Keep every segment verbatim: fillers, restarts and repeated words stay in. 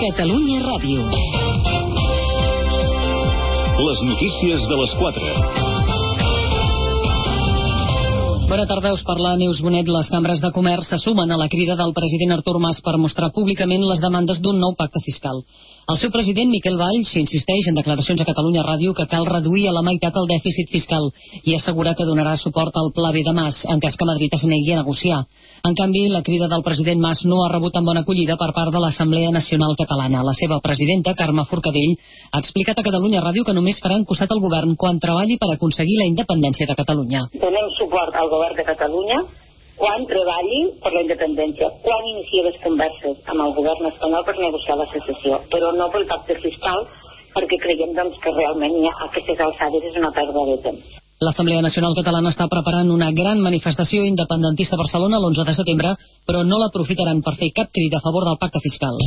Catalunya Ràdio. Les notícies de les quatre. Bona tarda, us parla Neus Bonet. Les cambres de comerç se sumen a la crida del president Artur Mas per mostrar públicament les demandes d'un nou pacte fiscal. El seu president, Miquel Valls, insisteix en declaracions a Catalunya Ràdio que cal reduir a la meitat el dèficit fiscal i assegura que donarà suport al Pla B de Mas en cas que Madrid es negui a negociar. En canvi, la crida del president Mas no ha rebut amb bona acollida per part de l'Assemblea Nacional Catalana. La seva presidenta, Carme Forcadell, ha explicat a Catalunya Ràdio que només faran costat al govern quan treballi per aconseguir la independència de Catalunya. Donem suport al govern de Catalunya quan treballi per la independència, quan inicia les converses amb el govern espanyol per negociar la secessió, però no pel pacte fiscal, perquè creiem doncs, que realment ja a aquestes alçades és una pèrdua de temps. L'Assemblea Nacional Catalana està preparant una gran manifestació independentista a Barcelona l'onze de setembre, però no l'aprofitaran per fer cap crida a favor del pacte fiscal.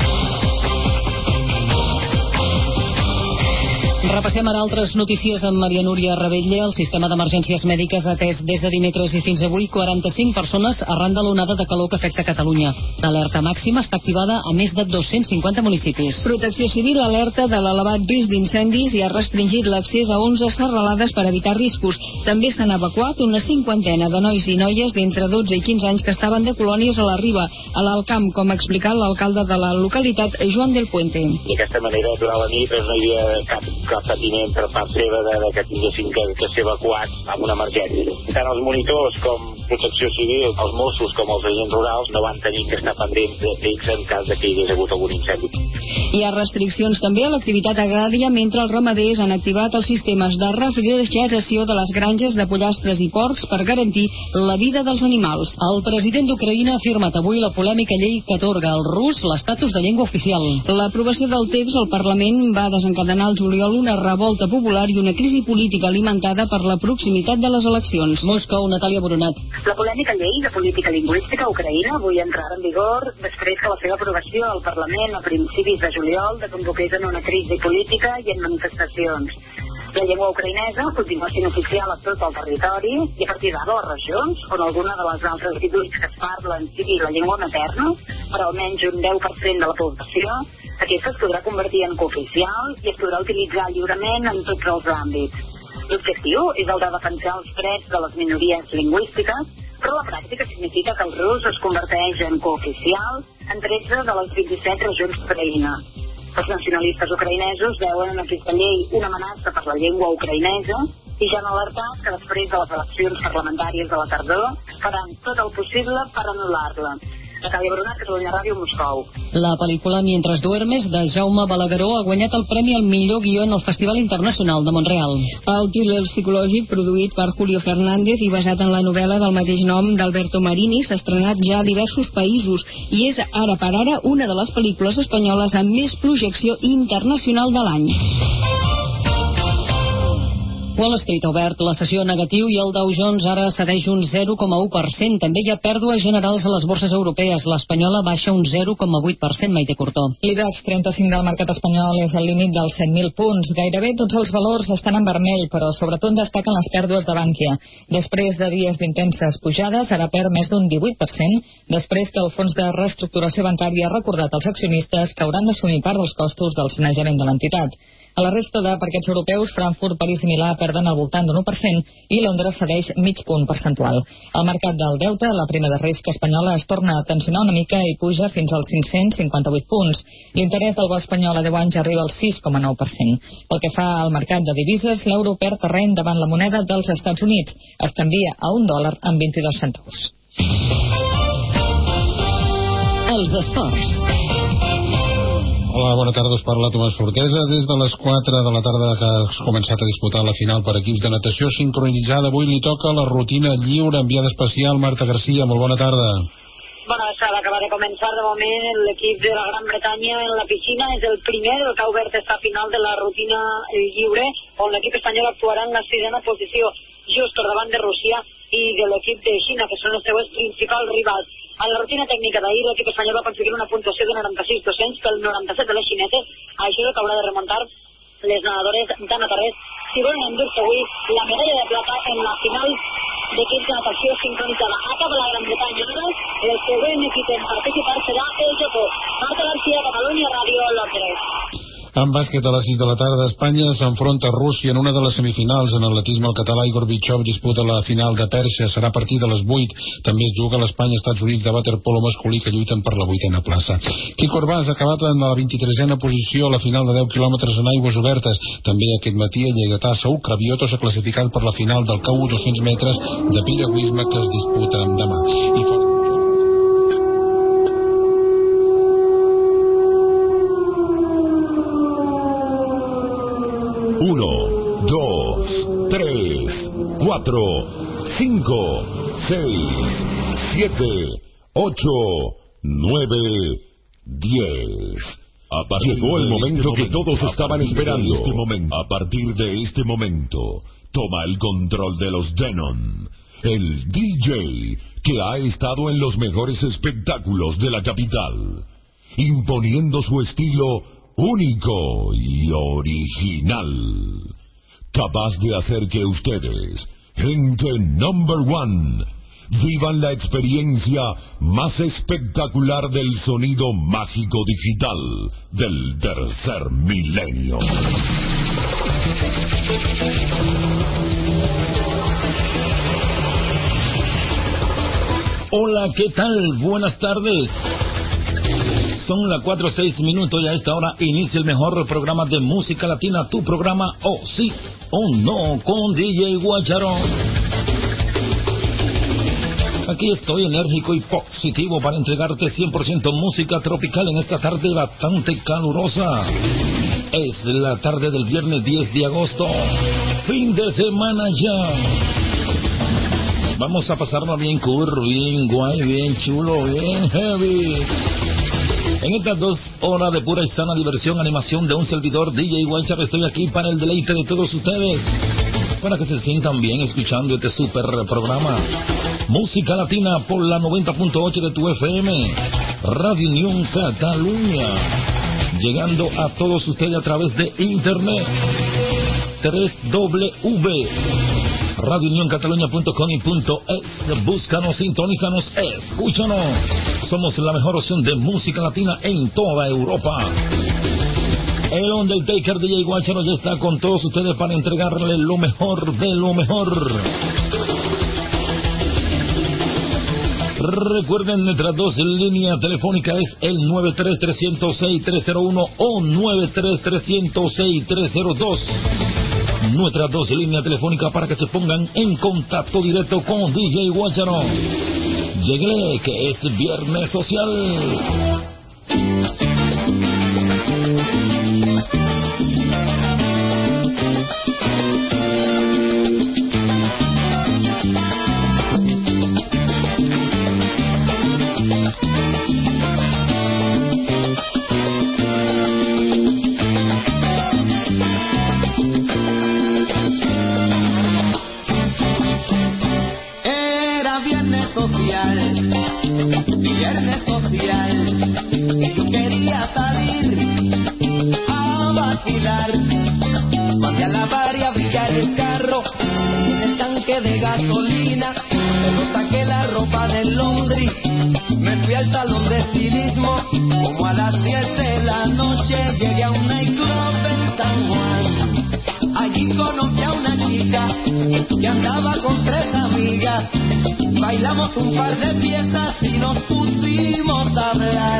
Repassem ara altres notícies amb Maria Núria Rebetlle. El sistema d'emergències mèdiques ha atès des de dimecres i fins avui quaranta-cinc persones arran de l'onada de calor que afecta Catalunya. L'alerta màxima està activada a més de dos-cents cinquanta municipis. Protecció Civil alerta de l'elevat risc d'incendis i ha restringit l'accés a onze serralades per evitar riscos. També s'han evacuat una cinquantena de nois i noies d'entre dotze i quinze anys que estaven de colònies a la Riba, a l'Alcamp, com ha explicat l'alcalde de la localitat, Joan del Puente. D'aquesta manera, durant la nit no hi havia cap, cap patiment per part seva de, de que tinguessin que, que ser evacuats amb una emergència. Tant els monitors com Protecció Civil, els Mossos com els agents rurals no van tenir que estar pendents d'ells en cas de que hi hagués hagut algun incendi. Hi ha restriccions també a l'activitat agrària mentre els ramaders han activat els sistemes de refrigeració de les granges de pollastres i porcs per garantir la vida dels animals. El president d'Ucraïna ha afirmat avui la polèmica llei que atorga al rus l'estatus de llengua oficial. L'aprovació del text al Parlament va desencadenar al juliol una revolta popular i una crisi política alimentada per la proximitat de les eleccions. Moscou, Natàlia Boronat. La polèmica llei de política lingüística a Ucraïna avui entrarà en vigor després que la seva aprovació al Parlament a principis de juliol desemboqués en una crisi política i en manifestacions. La llengua ucraïnesa continua sent oficial a tot el territori i a partir d'ara les regions on alguna de les altres divuit que es parlen sigui la llengua materna per almenys un deu per cent de la població, aquesta es podrà convertir en cooficial i es podrà utilitzar lliurement en tots els àmbits. L'objectiu és el de defensar els drets de les minories lingüístiques, però la pràctica significa que el rus es converteix en cooficial en tretze de les vint-i-set regions d'Ucraïna. Els nacionalistes ucraïnesos veuen en aquesta llei una amenaça per la llengua ucraïnesa i ja han alertat que després de les eleccions parlamentàries de la tardor faran tot el possible per anul·lar-la. Natàlia Boronat, Catalunya Ràdio, Moscou. La pel·lícula Mientras duermes, de Jaume Balagueró, ha guanyat el premi al millor guió en el Festival Internacional de Montreal. El thriller psicològic produït per Julio Fernández i basat en la novel·la del mateix nom d'Alberto Marini s'ha estrenat ja a diversos països i és ara per ara una de les pel·lícules espanyoles amb més projecció internacional de l'any. Wall Street ha obert la sessió negatiu i el Dow Jones ara cedeix un zero coma u per cent. També hi ha pèrdues generals a les borses europees. L'espanyola baixa un zero coma vuit per cent, Maite Cortó. L'IBEX trenta-cinc del mercat espanyol és al límit dels set mil punts. Gairebé tots els valors estan en vermell, però sobretot destaquen les pèrdues de Bankia. Després de dies d'intenses pujades, ara perd més d'un divuit per cent, després que el fons de reestructuració bancària ha recordat als accionistes que hauran d'assumir part dels costos del sanejament de l'entitat. A la resta de parquets europeus, Frankfurt, París i Milà perden al voltant d'un u per cent i Londres cedeix mig punt percentual. Al mercat del deute, la prima de risc espanyola es torna a tensionar una mica i puja fins als cinc-cents cinquanta-vuit punts. L'interès del bo espanyol a deu anys arriba al sis coma nou per cent. Pel que fa al mercat de divises, l'euro perd terreny davant la moneda dels Estats Units. Es canvia a un dòlar amb vint-i-dos cèntims. Els esports. Hola, bona tarda, us parla Tomàs Fortesa. Des de les quatre de la tarda que has començat a disputar la final per equips de natació sincronitzada, avui li toca la rutina lliure, enviada especial, Marta Garcia. Molt bona tarda. Bona tarda, acaba de començar de moment l'equip de la Gran Bretanya en la piscina. És el primer del que ha obert esta final de la rutina lliure, on l'equip espanyol actuarà en la sisena posició, just per davant de Rússia i de l'equip de Xina, que són els seus principals rivals. En la rutina tècnica d'ahir, l'equip espanyol va aconseguir una puntuació de noranta-sis dos-cents pel noranta-set de les xineses. Això és el que haurà de remuntar les nedadores d'Anna Tarrés si volen endur-se avui la medalla de plata en la final d'equips de natació sincronitzada a cap a la Gran Bretanya ara. El següent equip en participar serà el Japó. Marta García, Catalunya Ràdio, Londres. En bàsquet, a les sis de la tarda, Espanya s'enfronta a Rússia en una de les semifinals. En atletisme, el català Igor Bichov disputa la final de Pèrsia. Serà a partir de les vuit. També es juga l'Espanya-Estats Units de waterpolo masculí, que lluiten per la vuitena plaça. Quico Urbàs ha acabat en la vint-i-tresena posició a la final de deu quilòmetres en aigües obertes. També aquest matí el lleidatà Saúl Cravioto s'ha classificat per la final del K U dos-cents metres de piragüisme que es disputa demà. I fora... Uno, dos, tres, cuatro, cinco, seis, siete, ocho, nueve, diez. Llegó el momento que todos estaban esperando. Este momento, a partir de este momento, toma el control de los Denon, el D J que ha estado en los mejores espectáculos de la capital, imponiendo su estilo único y original, capaz de hacer que ustedes, gente number one, vivan la experiencia más espectacular del sonido mágico digital del tercer milenio. Hola, ¿qué tal? Buenas tardes. Son las cuatro o seis minutos y a esta hora inicia el mejor programa de música latina, tu programa Oh Sí o No con D J Guacharo. Aquí estoy enérgico y positivo para entregarte cien por ciento música tropical en esta tarde bastante calurosa. Es la tarde del viernes diez de agosto, fin de semana ya. Vamos a pasarlo bien cool, bien guay, bien chulo, bien heavy. En estas dos horas de pura y sana diversión, animación de un servidor D J Guacharo, estoy aquí para el deleite de todos ustedes, para que se sientan bien escuchando este super programa. Música latina por la noventa punto ocho de tu F M, Radio Unión Cataluña, llegando a todos ustedes a través de internet, tres w w radio unión cataluña punto com y punto es. Búscanos, sintonízanos, escúchanos. Somos la mejor opción de música latina en toda Europa. El Undertaker D J Guacharo ya está con todos ustedes para entregarle lo mejor de lo mejor. Recuerden, nuestras dos líneas telefónicas es el nueve tres tres cero seis tres cero uno o nueve tres tres cero seis tres cero dos. Nuestras dos líneas telefónicas para que se pongan en contacto directo con D J Guacharo. Lléguele que es Viernes Social. De gasolina, pero saqué la ropa del laundry, me fui al salón de estilismo, como a las diez de la noche llegué a un nightclub en San Juan. Allí conocí a una chica que andaba con tres amigas, bailamos un par de piezas y nos pusimos a hablar,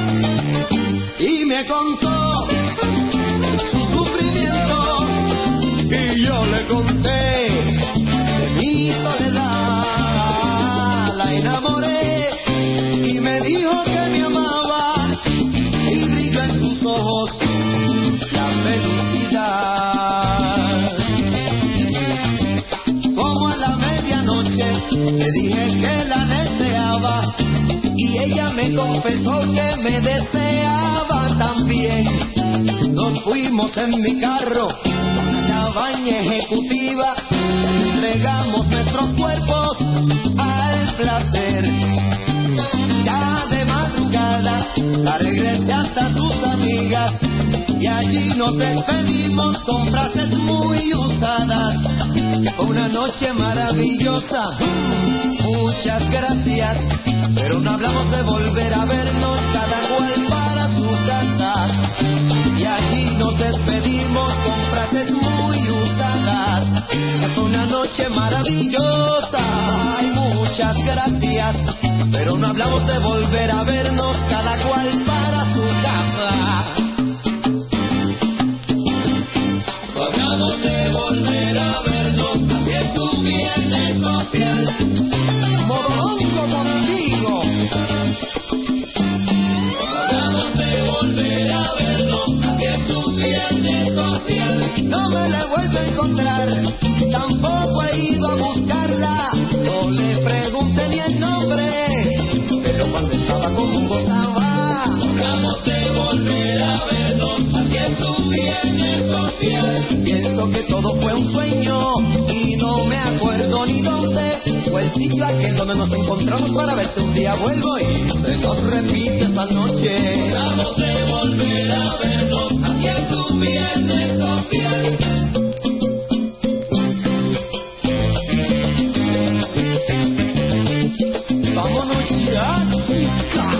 y me contó su sufrimiento y yo le conté mi soledad. La enamoré y me dijo que me amaba y brilló en sus ojos la felicidad. Como a la medianoche le dije que la deseaba y ella me confesó que me deseaba también. Nos fuimos en mi carro a una cabaña ejecutiva, entregamos nuestros cuerpos al placer. Ya de madrugada la regresé hasta sus amigas y allí nos despedimos con frases muy usadas, fue una noche maravillosa. Muchas gracias, pero no hablamos de volver a vernos, cada cual para su casa. Y allí nos despedimos con frases muy usadas. Fue una noche maravillosa. Ay, muchas gracias, pero no hablamos de volver a vernos, cada cual para su casa. No hablamos de volver a vernos, así es un viernes social. Modongo contigo. No hablamos de volver a vernos, así es un viernes social. No me la he vuelto a encontrar, tampoco he ido a buscarla. No le pregunté ni el nombre, pero cuando estaba como gozaba. Hablamos de volver a vernos, así es un viernes social. Pienso que todo fue un sueño y no me acuerdo ni dónde fue el sitio aquel donde nos encontramos para ver si un día vuelvo y se nos repite esta noche. Hablamos de volver a vernos, así es un viernes social. Vámonos ya, chicas.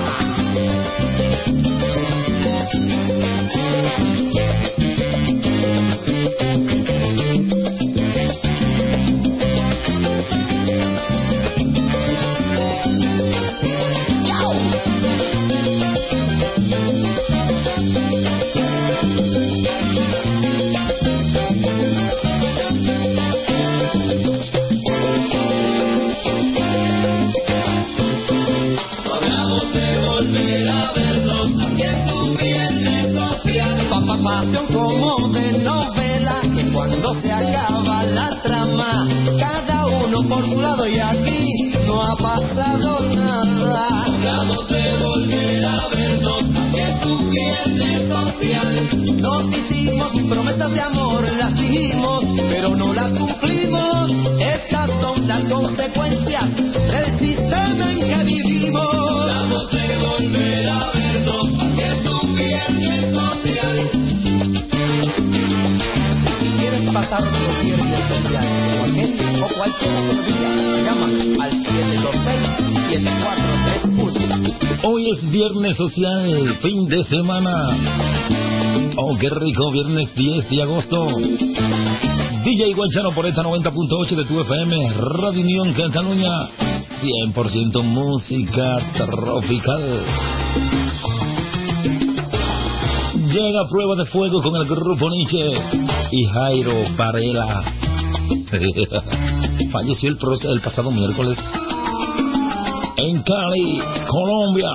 Pasión como de novela, que cuando se acaba la trama, cada uno por su lado y aquí no ha pasado nada. Hablamos de volver a vernos, que es un viernes social. Nos hicimos promesas de amor, las dijimos, pero no las cumplimos. Estas son las consecuencias del sistema en que vivimos. Hablamos de volver a vernos, que es un viernes social. Pasar otro viernes social o aquel o cualquier otro día, llama al siete dos seis, siete cuatro tres uno. Hoy es viernes social, fin de semana. Oh, qué rico, viernes diez de agosto. D J Guanchano por esta noventa punto ocho de tu F M, Radio Unión Cataluña, cien por ciento música tropical. Llega Prueba de Fuego con el grupo Nietzsche y Jairo Varela. Falleció el, el pasado miércoles en Cali, Colombia.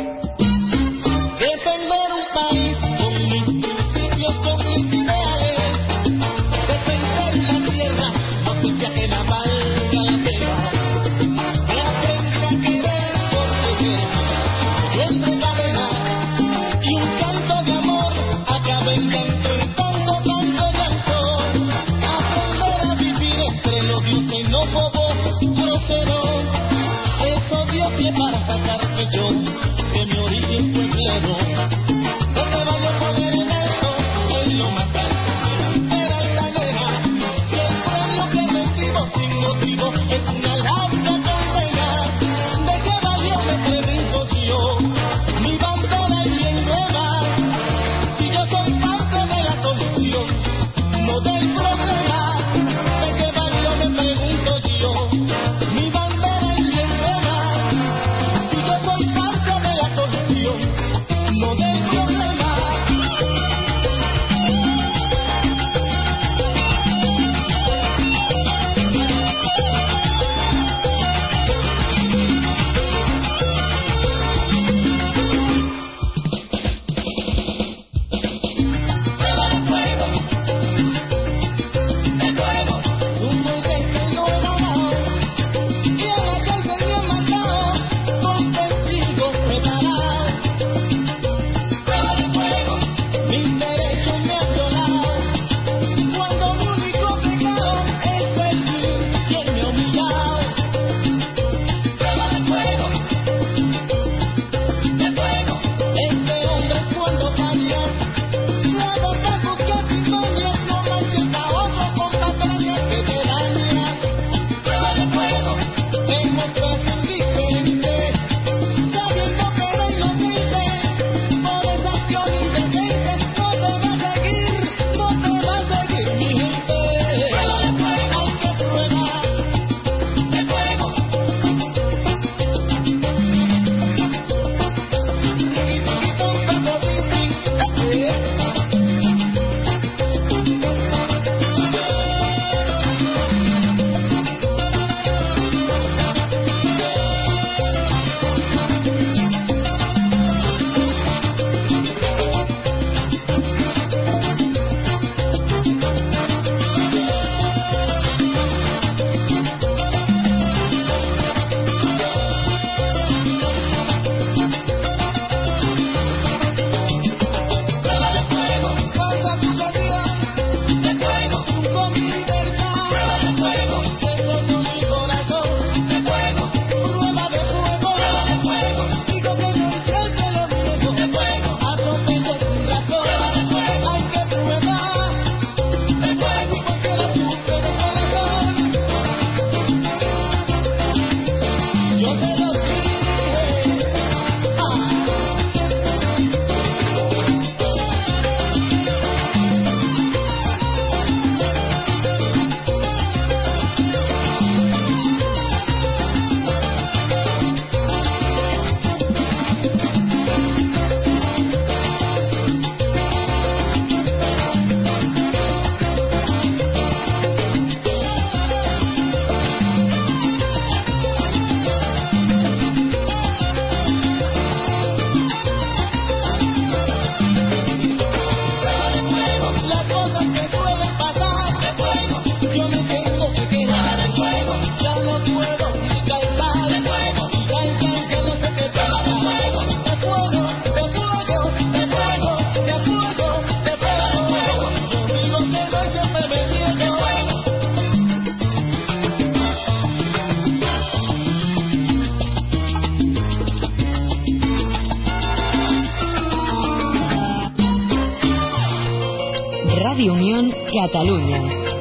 Defender un país con mis principios, con mis ideales. Defender la tierra, no se sea que la valga la pena. Que aprenda a querer proteger. Yo entregaré y un canto de amor acaba en llanto, tanto, tanto llanto. Aprender a vivir entre los dioses no bobo, grosero. Eso Dios que para sacarme yo de mi origen pueblero. Donde vaya a poner en alto, en lo más alto, de la altanera. Si el premio que recibo sin motivo es una larga condena, ¿de qué valió, me pregunto yo, mi bandera y mi emblema? Si yo soy parte de la solución, no del problema, ¿de qué valió, me pregunto yo, mi bandera y mi emblema? Si yo soy parte y Unión Cataluña.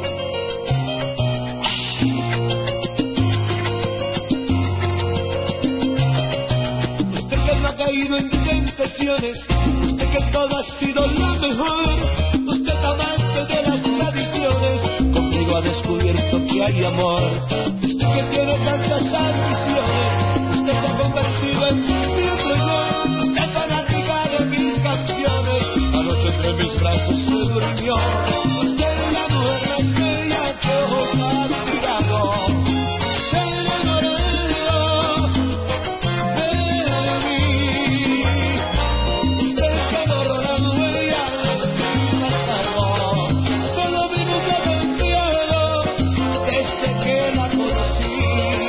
Usted que no ha caído en tentaciones, usted que todo ha sido lo mejor, usted amante de las tradiciones, conmigo ha descubierto que hay amor. Usted que tiene tantas ambiciones, usted se ha convertido en mi otro yo, usted fanática de mis canciones, anoche entre mis brazos se durmió. Usted es la mujer más bella que ojos han mirado. Se enamoró de mí. Usted que borró la huella de mi pasado, solo mi mundo del cielo desde que la conocí.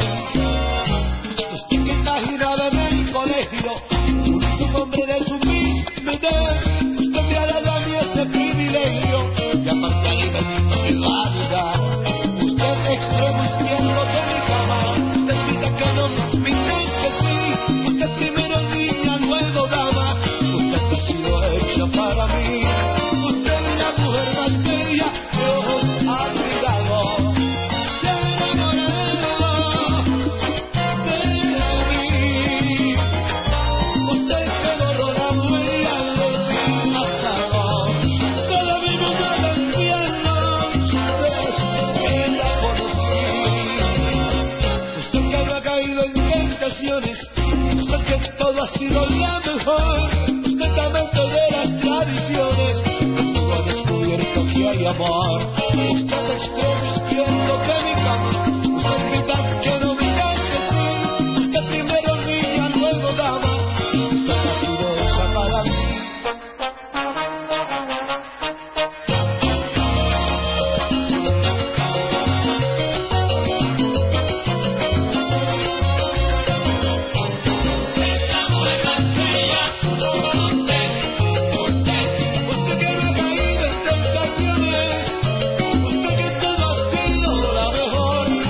Usted que está girada en el colegio, un hombre de su misma edad, usted me ha dado a mí ese privilegio y aparte alimento mi vanidad. Usted extremo izquierdo de mi cama, usted grita que no, pinta que sí, usted primero niña, luego dama, usted ha sido hecha para mí. Usted es la mujer más bella que ojos han mirado. Se enamoró de mí. Usted que borró la huella de mi pasado, todo mi mundo del infierno desde que la conocí. Usted que no ha caído en tentaciones, usted que todo ha sido lo mejor, usted amante de las tradiciones, conmigo ha descubierto que hay amor. Usted extremo izquierdo de mi cama, usted grita que no, diga que sí, usted primero niña, luego dama, usted ha sido hecha para mí. Usted que no ha caído en tentaciones, usted que todo ha sido la mejor,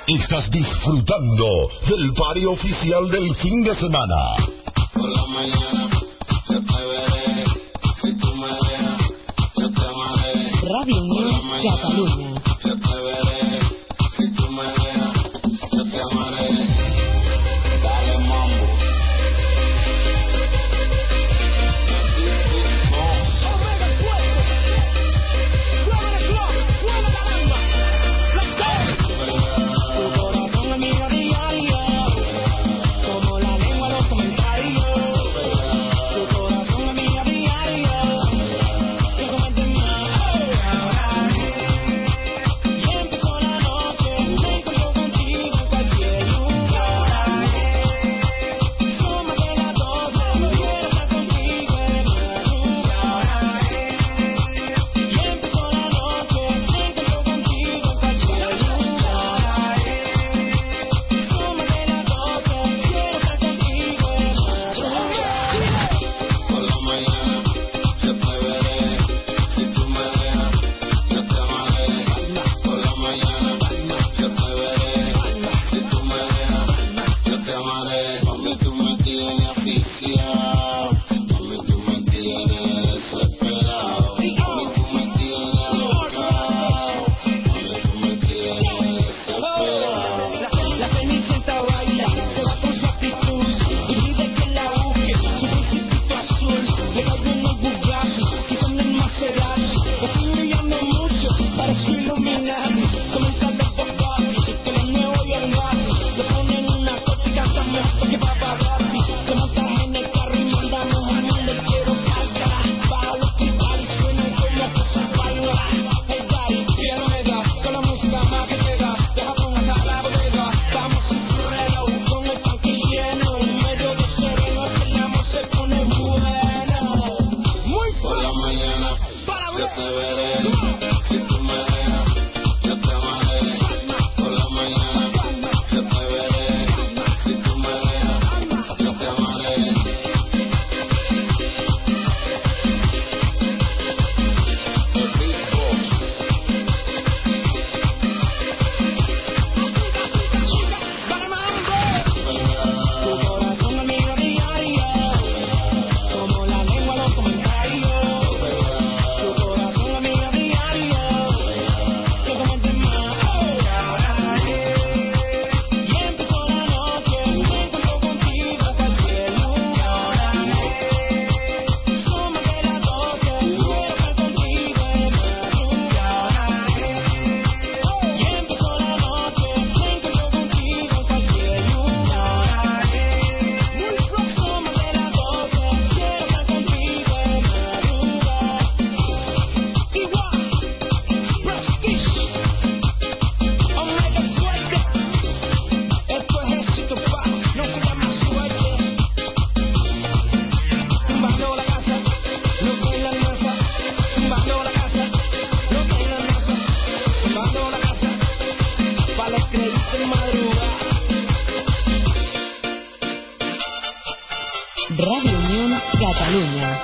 Estás disfrutando del party oficial del fin de semana. Por la mañana yo te veré, si tú me dejas, yo te amaré. Radio Unión Catalunya. Yo te veré, si tú me dejas, yo te amaré. Dale mambo. Radio Unión Catalunya.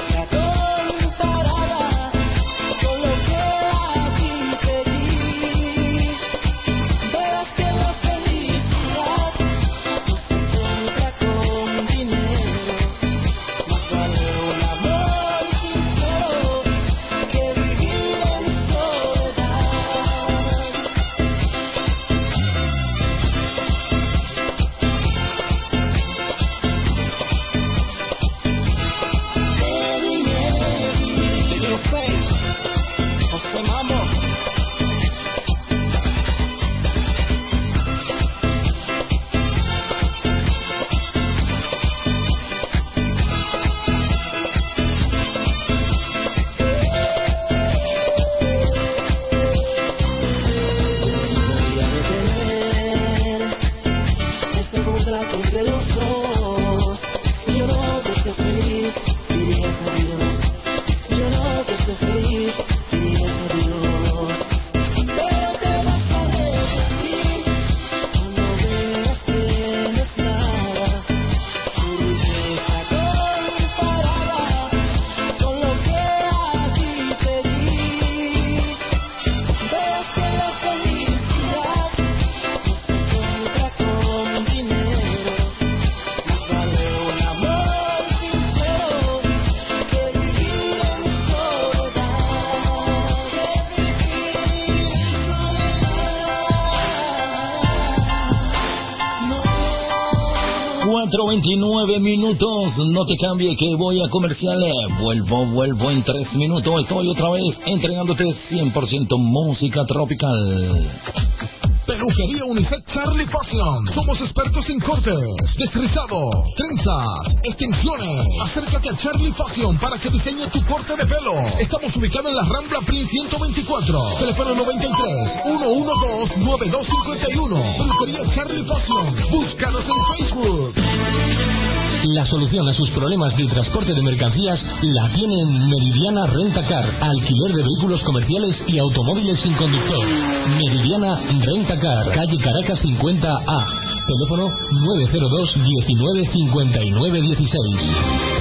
Comparada con lo que a ti te di. cuatro veintinueve minutos. No te cambie que voy a comerciales. Vuelvo, vuelvo en tres minutos. Estoy otra vez entregándote cien por ciento música tropical. Peluquería Unisex Charlie Fashion. Somos expertos en cortes, desrizado, trenzas, extensiones. Acércate a Charlie Fashion para que diseñe tu corte de pelo. Estamos ubicados en la Rambla Prince ciento veinticuatro. Teléfono noventa y tres, ciento doce, noventa y dos cincuenta y uno. Peluquería Charlie Fashion. Búscanos en Facebook. La solución a sus problemas de transporte de mercancías la tiene en Meridiana Rentacar, alquiler de vehículos comerciales y automóviles sin conductor. Meridiana Rentacar, calle Caracas cincuenta A, teléfono nueve cero dos, diecinueve, cincuenta y nueve, dieciséis.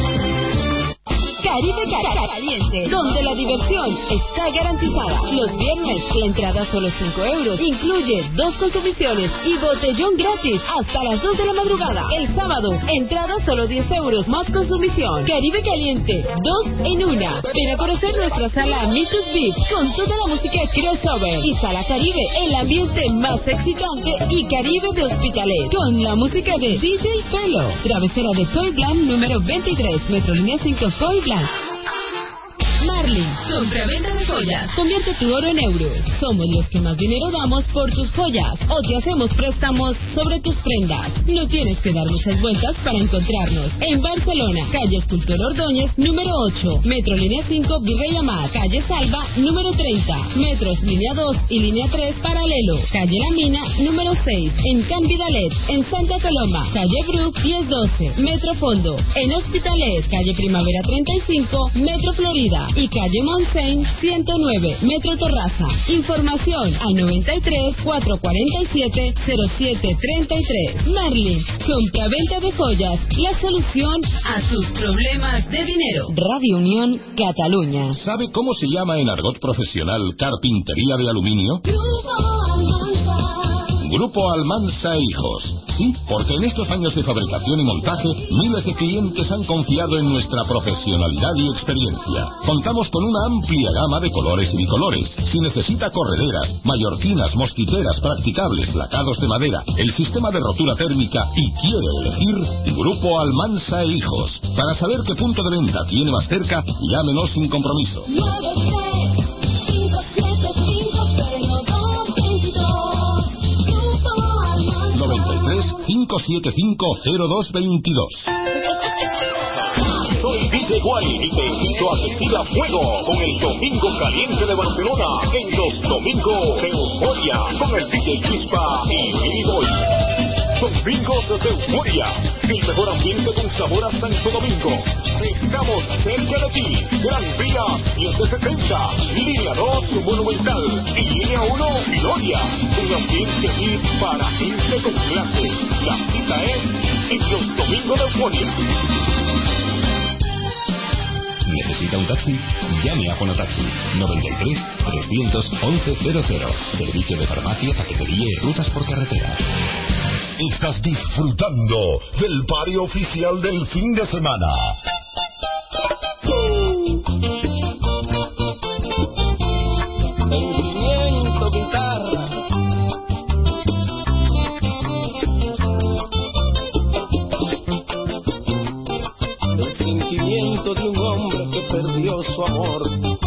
Caribe Caliente, donde la diversión está garantizada. Los viernes, la entrada solo cinco euros. Incluye dos consumiciones y botellón gratis hasta las dos de la madrugada. El sábado, entrada solo diez euros más consumición. Caribe Caliente, dos en una. Ven a conocer nuestra sala Mitos Beat con toda la música crossover. Y Sala Caribe, el ambiente más excitante y Caribe de Hospitalet, con la música de D J Pelo. Travesera de Soy Blanc número veintitrés, Metrolínea cinco Soy Blanc. Marlin, compra-venta de joyas. Convierte tu oro en euros. Somos los que más dinero damos por tus joyas o te hacemos préstamos sobre tus prendas. No tienes que dar muchas vueltas para encontrarnos. En Barcelona, calle Escultor Ordóñez, número ocho. Metro Línea cinco, Virrey Amat. Calle Salva, número treinta. Metros Línea dos y Línea tres, paralelo. Calle La Mina, número seis. En Can Vidalet. En Santa Coloma, calle Brook, diez doce. Metro Fondo. En Hospitalet, calle Primavera treinta y cinco. Metro Florida. Y calle Montseny, ciento nueve, Metro Torraza. Información al noventa y tres, cuatrocientos cuarenta y siete, cero siete treinta y tres. Marlin, compra-venta de joyas, la solución a sus problemas de dinero. Radio Unión, Cataluña. ¿Sabe cómo se llama en argot profesional carpintería de aluminio? Grupo Almansa e Hijos. Sí, porque en estos años de fabricación y montaje, miles de clientes han confiado en nuestra profesionalidad y experiencia. Contamos con una amplia gama de colores y bicolores. Si necesita correderas, mallorquinas, mosquiteras, practicables, lacados de madera, el sistema de rotura térmica y quiere elegir, Grupo Almansa e Hijos. Para saber qué punto de venta tiene más cerca, llámenos sin compromiso. noventa y tres, cinco siete cinco, cero dos veintidós. Soy D J Guay y te invito a que siga fuego con el Domingo Caliente de Barcelona en los Domingos de Euforia con el D J Chispa y Billy Boy. Domingos de Euforia, el mejor ambiente con sabor a Santo Domingo. Estamos cerca de ti. Gran Vía setecientos setenta, Línea dos Monumental y Línea uno Gloria. Un ambiente hit para gente con clase. La cita es en los Domingos de Euforia. ¿Necesita un taxi? Llame a Fonotaxi noventa y tres, trescientos once, cero cero. Servicio de farmacia, paquetería y rutas por carretera. Estás disfrutando del party oficial del fin de semana. Sentimiento, guitarra. El sentimiento de un hombre que perdió su amor.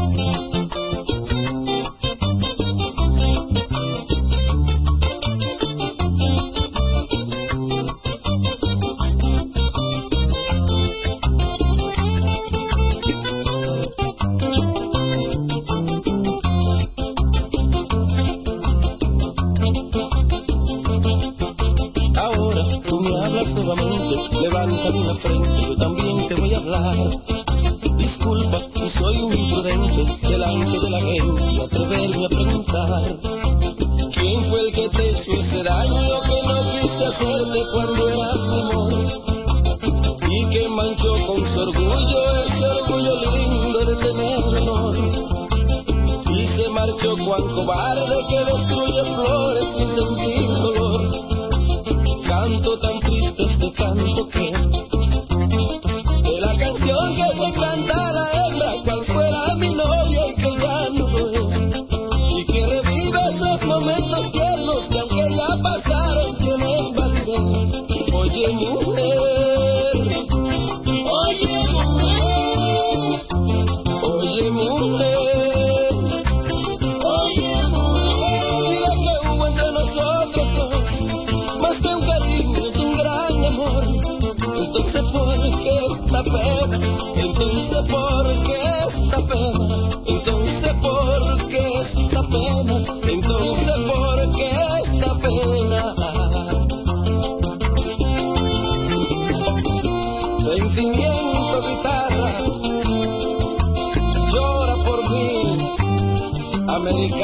Levántame una frente, yo también te voy a hablar. Disculpa, si soy un imprudente, delante de la gente atreverme a preguntar. ¿Quién fue el que te hizo ese daño que no quise hacerte cuando eras mi amor? Y que manchó con su orgullo, ese orgullo lindo de tener honor. Y se marchó cuán cobarde que destruye flores sin sentir dolor. Canto tan triste este canto que de la canción que se canta a la hembra cual fuera mi novia y que ya no lo es, y que revive esos momentos tiernos que aunque ya pasaron tienen validez. Oye mujer,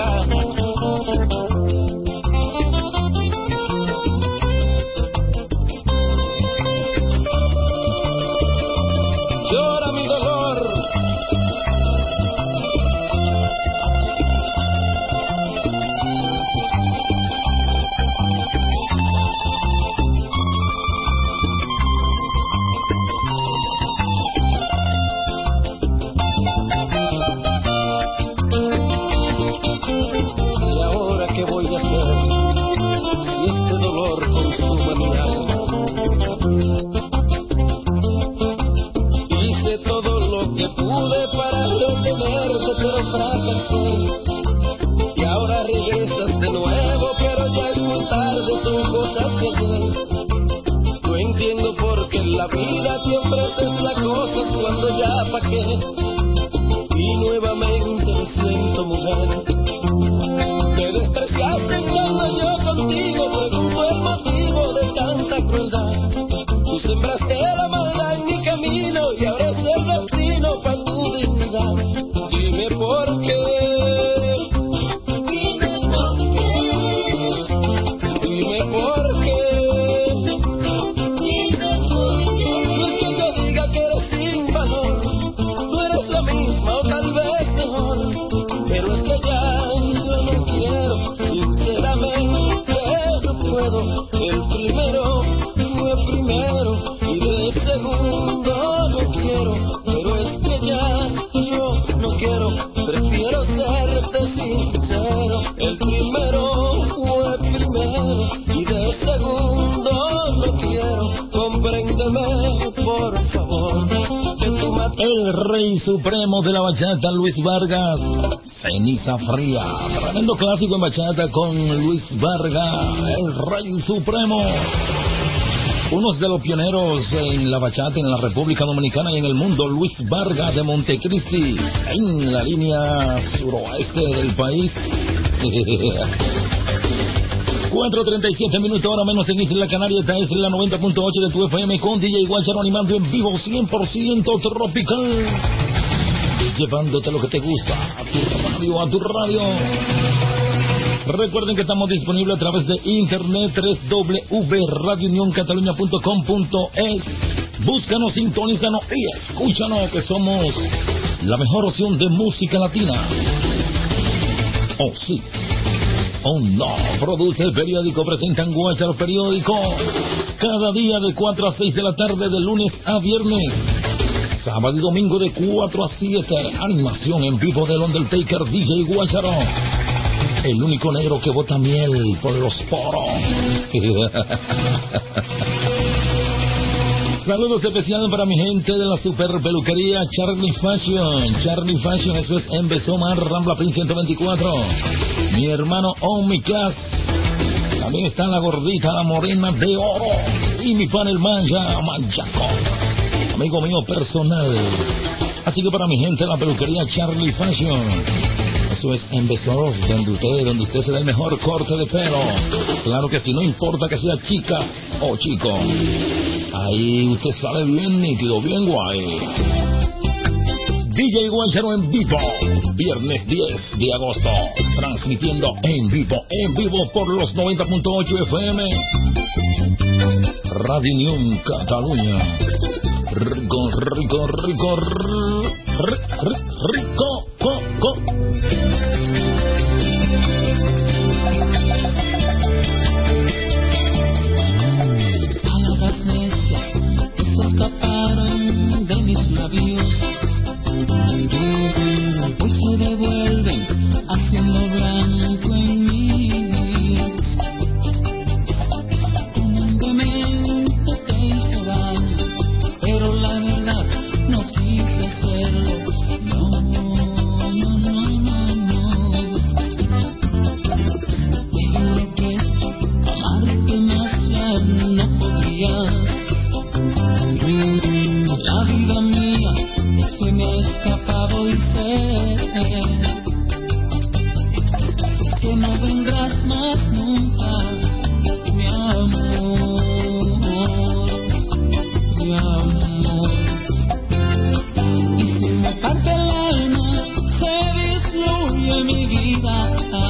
llorar. Llora mi dolor. ¿Y ahora qué voy a hacer si este dolor consuma mi alma? Hice todo lo que pude para retenerte, pero fracasé. Y ahora regresas de nuevo, pero ya es muy tarde, son cosas que sé. No entiendo por qué en la vida te ofreces las cosas cuando ya pagué. Y nuevamente me siento mujer. Me despreciaste cuando yo contigo pregunto el motivo de tanta crueldad. Tú sembraste la maldad en mi camino y ahora es el destino para tu dignidad. Dime por qué. Dime por qué. Dime por qué. Dime por qué. No es que yo diga que eres sin valor. Tú eres la misma o tal vez mejor. Pero es que ya yo no quiero, sinceramente no puedo. El primero fue primero y de segundo no quiero. Pero es que ya yo no quiero, prefiero serte sincero. El primero fue primero y de segundo no quiero. Compréndeme por favor. El rey supremo de la bachata, Luis Vargas, Ceniza Fría, tremendo clásico en bachata con Luis Vargas, el rey supremo. Unos de los pioneros en la bachata en la República Dominicana y en el mundo, Luis Vargas de Montecristi, en la línea suroeste del país. cuatro treinta y siete minutos, ahora menos en Isla Canaria. Esta es la noventa punto ocho de tu F M con D J Guacharo animando en vivo cien por ciento tropical, llevándote lo que te gusta a tu radio, a tu radio. Recuerden que estamos disponibles a través de internet, doble u doble u doble u punto radio unión cataluña punto com punto es. Búscanos, sintonízanos y escúchanos, que somos la mejor opción de música latina. Oh sí, oh no. Produce el periódico, presentan Guacharo Periódico cada día de cuatro a seis de la tarde, de lunes a viernes. Sábado y domingo de cuatro a siete. Animación en vivo del Undertaker D J Guacharo, el único negro que bota miel por los poros. Saludos especiales para mi gente de la super peluquería Charlie Fashion. Charlie Fashion, eso es en Besomar, Rambla Prince ciento veinticuatro. Mi hermano Omicas. También está la gordita, la morena de oro. Y mi pan el Manja, Manchaco, amigo mío personal. Así que para mi gente de la peluquería Charlie Fashion, eso es en Besor, donde usted, donde usted se da el mejor corte de pelo. Claro que sí, no importa que sea chicas o chico. Ahí usted sale bien nítido, bien guay. D J Guacharo en vivo, viernes diez de agosto, transmitiendo en vivo, en vivo por los noventa punto ocho F M. Radio Unión Cataluña. Rico, rico, rico, rico, rico, co, co. Palabras necias que se escaparon de mis labios, hoy se devuelven haciendo blanco en mí. Comúnmente te hice daño, pero la verdad no quise hacerlo. No, no, no, no, no. Me juro que amarte más ya no podía. La vida mía se me ha escapado y sé que no vendrás más nunca, mi amor, mi amor. Y si me parte el alma, se disminuye mi vida.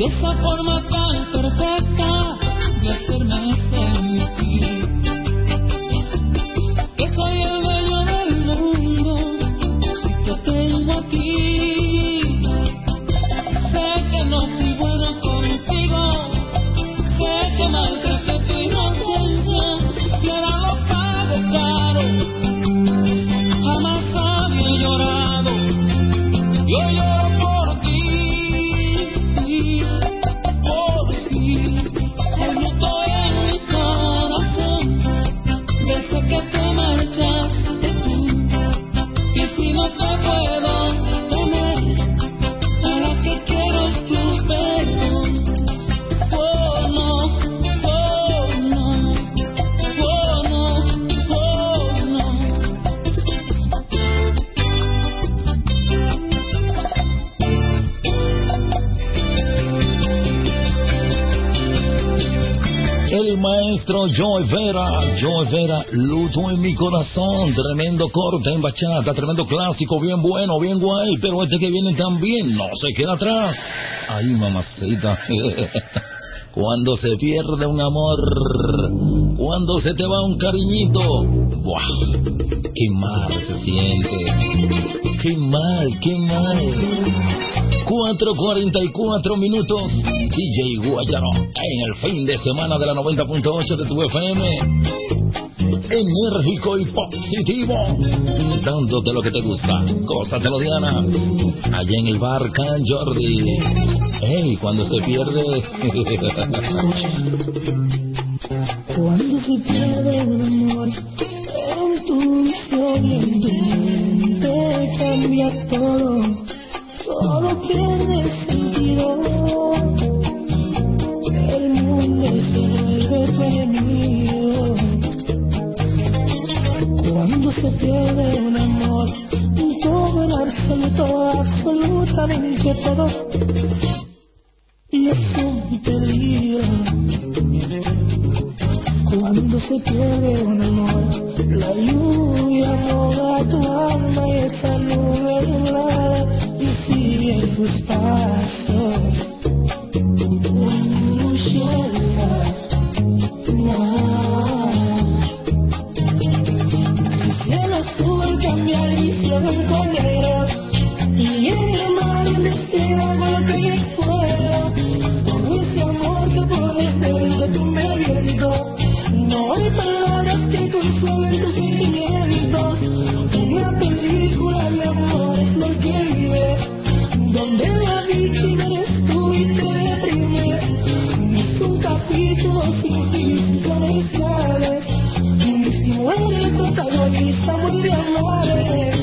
esa forma tan perfecta de hacerme sentir que soy el dueño del mundo si te tengo aquí. Sé que no fui bueno contigo, sé que maltraté tu inocencia y ahora lo pago caro. Jamás había llorado, yo lloro por ti, por ti. El luto en mi corazón desde que te marchaste tú. Y si no te puedo tener, ¿para qué quiero tu perdón? Oh no, oh no, oh no, oh no. El maestro Joe Vera, Joe Vera, luto en mi corazón, tremendo corte en bachata, tremendo clásico, bien bueno, bien guay, pero este que viene también no se queda atrás. Ay, mamacita, cuando se pierde un amor, cuando se te va un cariñito, ¡buah! Qué mal se siente, qué mal, qué mal. cuatro cuarenta y cuatro minutos, D J Guayaro, en el fin de semana de la noventa punto ocho de tu F M. Enérgico y positivo, dándote lo que te gusta. Gózatelo, Diana, allá en el bar Can Jordi. Ey, cuando se pierde. Cuando se pierde un amor, en tu visión y en tu mente cambia todo, todo pierde sentido. El mundo se vuelve tu enemigo. Cuando se pierde un amor, todo en absoluto, absolutamente todo, y es un peligro. Cuando se pierde un amor, la lluvia moja tu alma y esa nube nublada y sigue sus pasos. Un cielo, no. El cielo azul cambia el cielo en negro y el mar en destino con que es fuera. Por ese amor que por el de tu medio. No hay palabras que consuelen tus sentimientos. Una película de amor es lo que vive, donde la víctima eres tú y te deprimes. Es un capítulo sin fin comerciales, y si muere el protagonista muy de amores.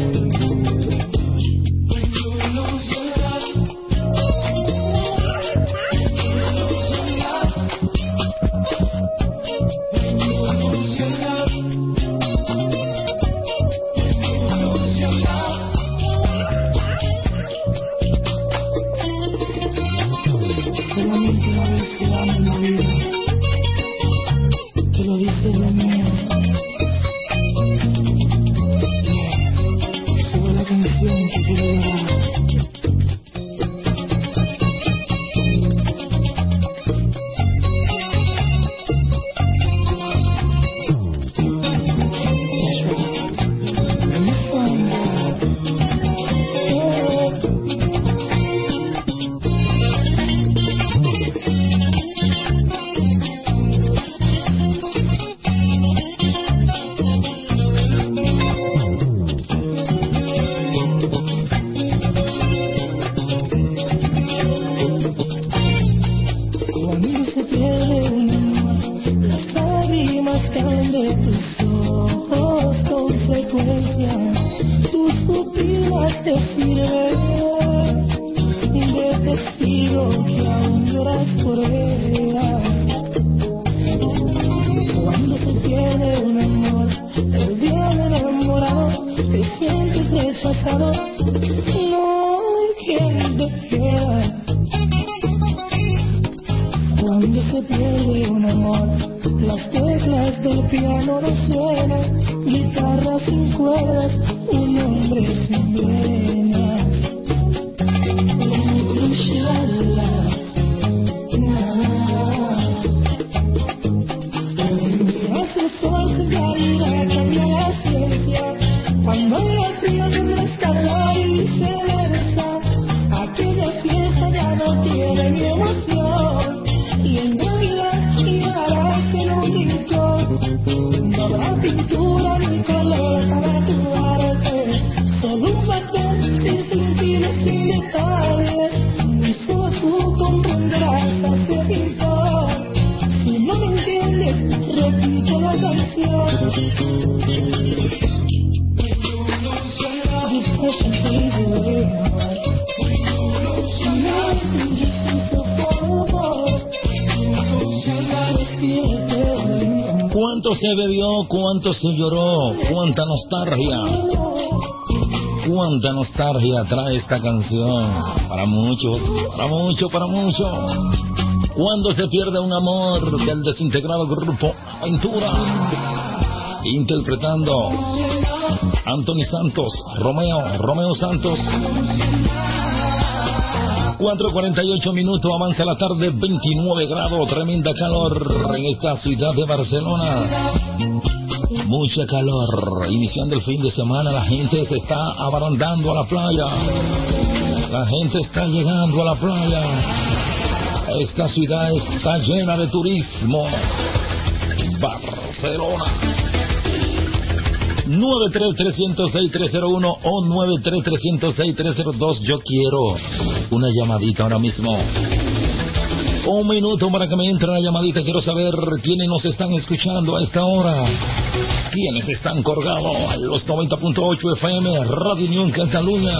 Cuánto se bebió, cuánto se lloró, cuánta nostalgia, cuánta nostalgia trae esta canción. Para muchos, para muchos, para muchos. Cuando se pierde un amor del desintegrado grupo Aventura, interpretando Anthony Santos, Romeo, Romeo Santos. cuatro cuarenta y ocho minutos, avanza la tarde, veintinueve grados, tremenda calor en esta ciudad de Barcelona. Mucha calor, iniciando el fin de semana, la gente se está abarandando a la playa. La gente está llegando a la playa. Esta ciudad está llena de turismo. Barcelona. nueve tres tres cero seis tres cero uno o nueve tres tres cero seis tres cero dos. Yo quiero una llamadita ahora mismo. Un minuto para que me entre la llamadita. Quiero saber quiénes nos están escuchando a esta hora. Quiénes están colgados en los noventa punto ocho F M Radio Unión Cataluña.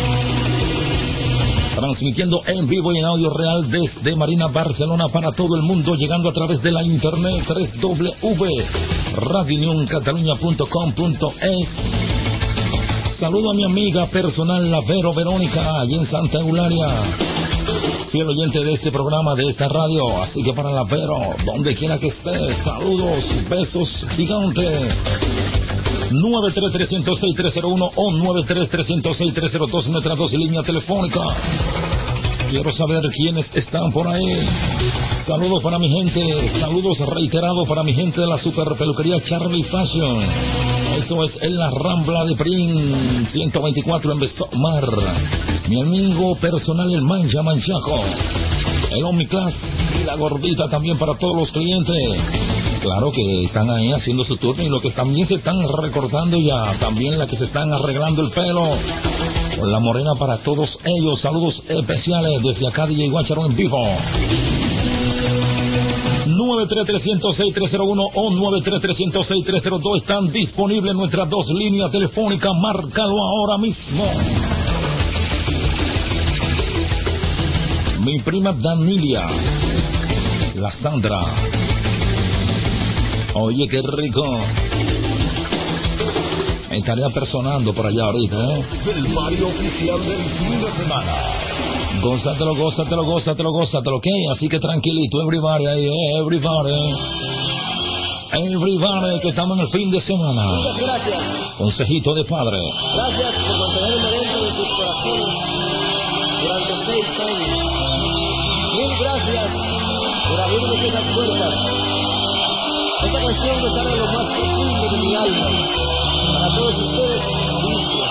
Transmitiendo en vivo y en audio real desde Marina, Barcelona, para todo el mundo, llegando a través de la internet doble u doble u doble u punto radio unión cataluña punto com punto es. Saludo a mi amiga personal, la Vero Verónica, allí en Santa Eulalia, fiel oyente de este programa, de esta radio. Así que para la Vero, donde quiera que esté, saludos, besos gigantes. nueve tres tres cero seis tres cero uno o nueve tres tres cero seis tres cero dos, nuestras dos líneas telefónicas. Quiero saber quiénes están por ahí. Saludos para mi gente, saludos reiterados para mi gente de la super peluquería Charlie Fashion. Eso es en la Rambla de Prin ciento veinticuatro en Besomar. Mi amigo personal, el Mancha Manchaco, el Omniclass y la gordita también para todos los clientes. Claro que están ahí haciendo su turno y lo que también se están recortando ya, también la que se están arreglando el pelo, con la morena para todos ellos. Saludos especiales desde acá D J Guacharo en vivo. nueve tres tres cero seis tres cero uno o nueve tres tres cero seis tres cero dos están disponibles nuestras dos líneas telefónicas. Márcalo ahora mismo. Mi prima Danilia, la Sandra. Oye, qué rico. Me estaría personando por allá ahorita, ¿eh? Del Mario oficial del fin de semana. Gózatelo, gózatelo, gózatelo, gózatelo, ¿ok? Así que tranquilito, everybody, ahí, everybody. Everybody, que estamos en el fin de semana. Muchas gracias. Consejito de padre. Gracias por mantenerme dentro de sus corazones durante seis años. Mil gracias por abrirme esas puertas. Esta canción me sale de lo más profundo de mi alma. Para todos ustedes, dice.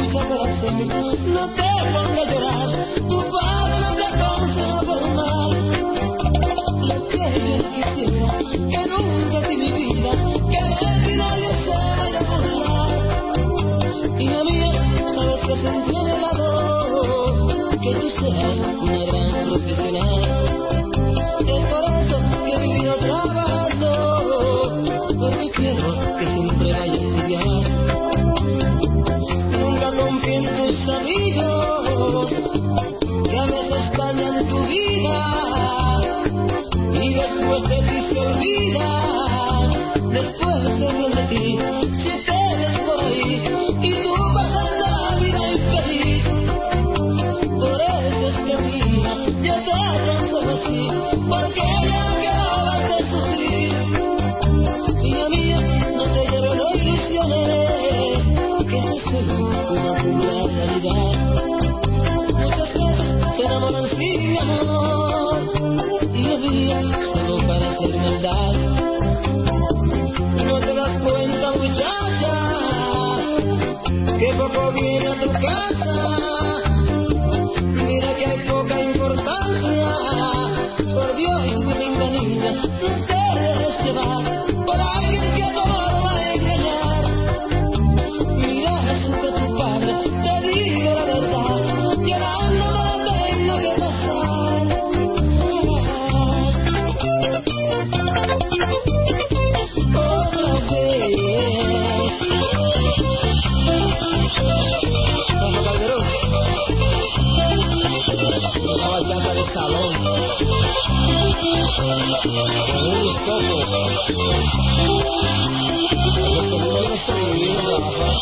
No te pongas a llorar, tu padre no te aconseja por mal. ti, mi amor, y lo mío solo para hacer maldad. No te das cuenta, muchacha, que poco viene a tu casa. Mira que hay poca importancia. Por Dios, mi linda niña, no te dejes llevar por alguien que a tu amor va a engañar. Mira, eso que tu padre te digo la verdad, llorando no la tengo que pasar. Otra vez. Vamos, Calderón. Una bachata de salón. Un soco. Los sonidos se vivieron la baja.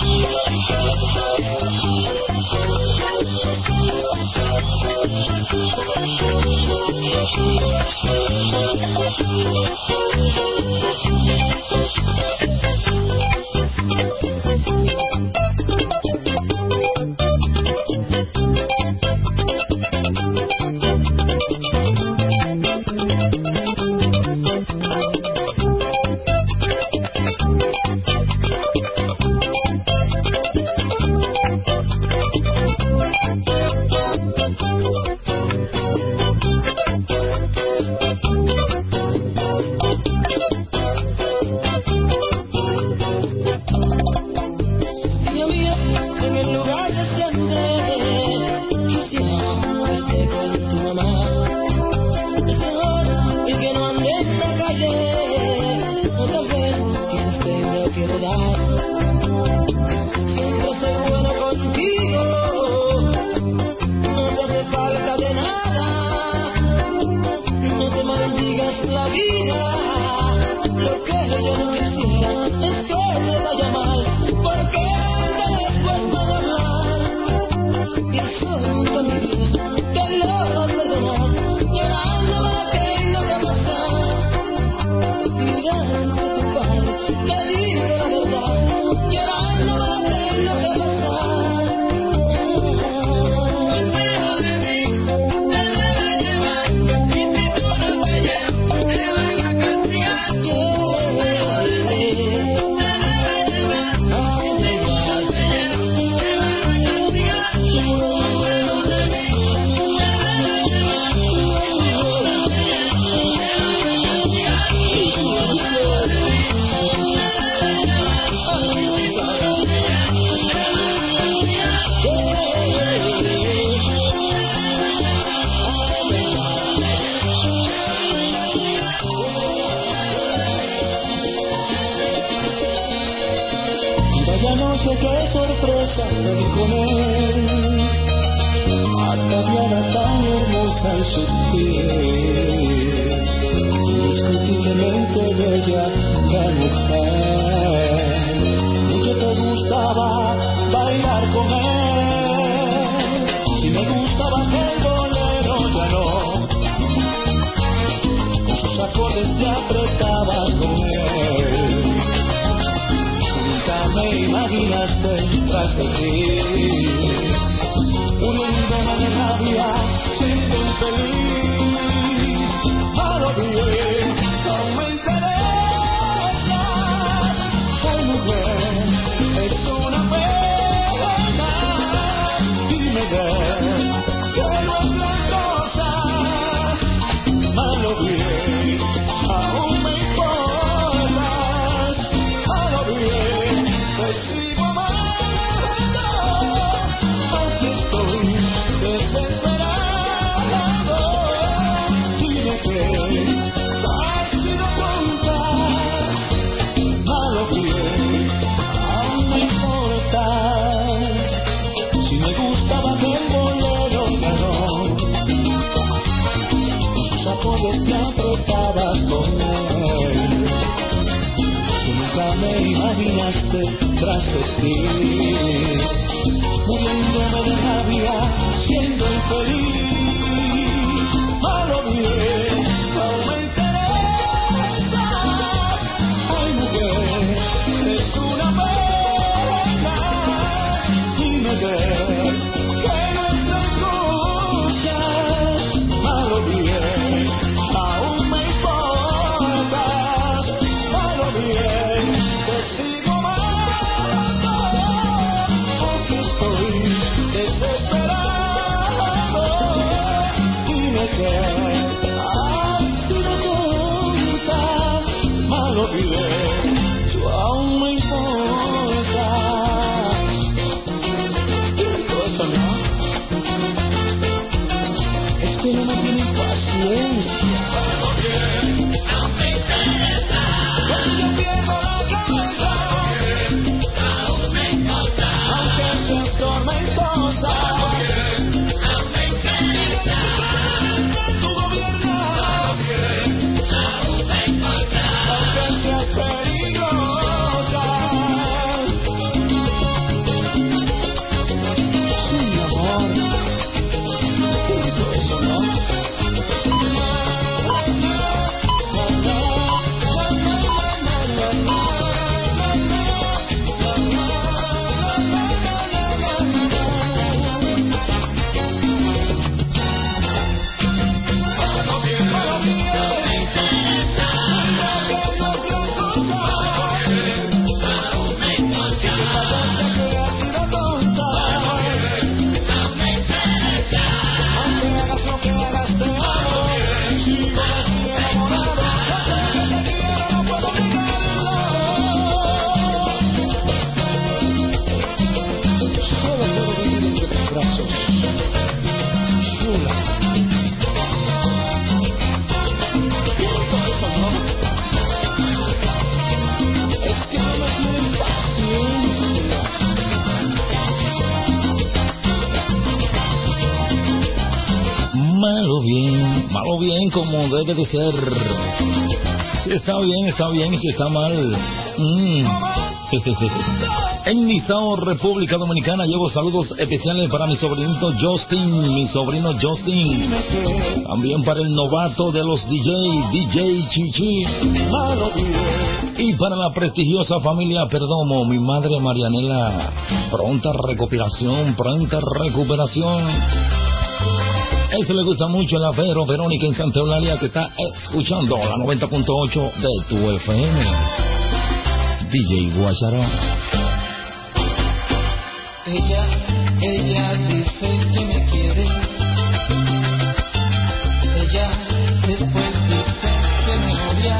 que no me tienen paciencia. Cuando yo pierdo la cabeza, aún me importa, aunque seas tormentosa. Aún me interesa, tú gobiernas, aún me importa, aunque seas peligrosa. Sí, amor. Eso no. Malo bien, malo bien como debe de ser. Si está bien, está bien, y si está mal. Mm. En Nizao, República Dominicana, llevo saludos especiales para mi sobrinito Justin, mi sobrino Justin. También para el novato de los D J, D J Chichi. Y para la prestigiosa familia Perdomo, mi madre Marianela. Pronta recuperación, pronta recuperación. Eso le gusta mucho a la Vero Verónica en Santa Eulalia, que está escuchando la noventa punto ocho de tu F M. D J Guacharo. Ella, ella dice que me quiere. Ella después dice que me odia.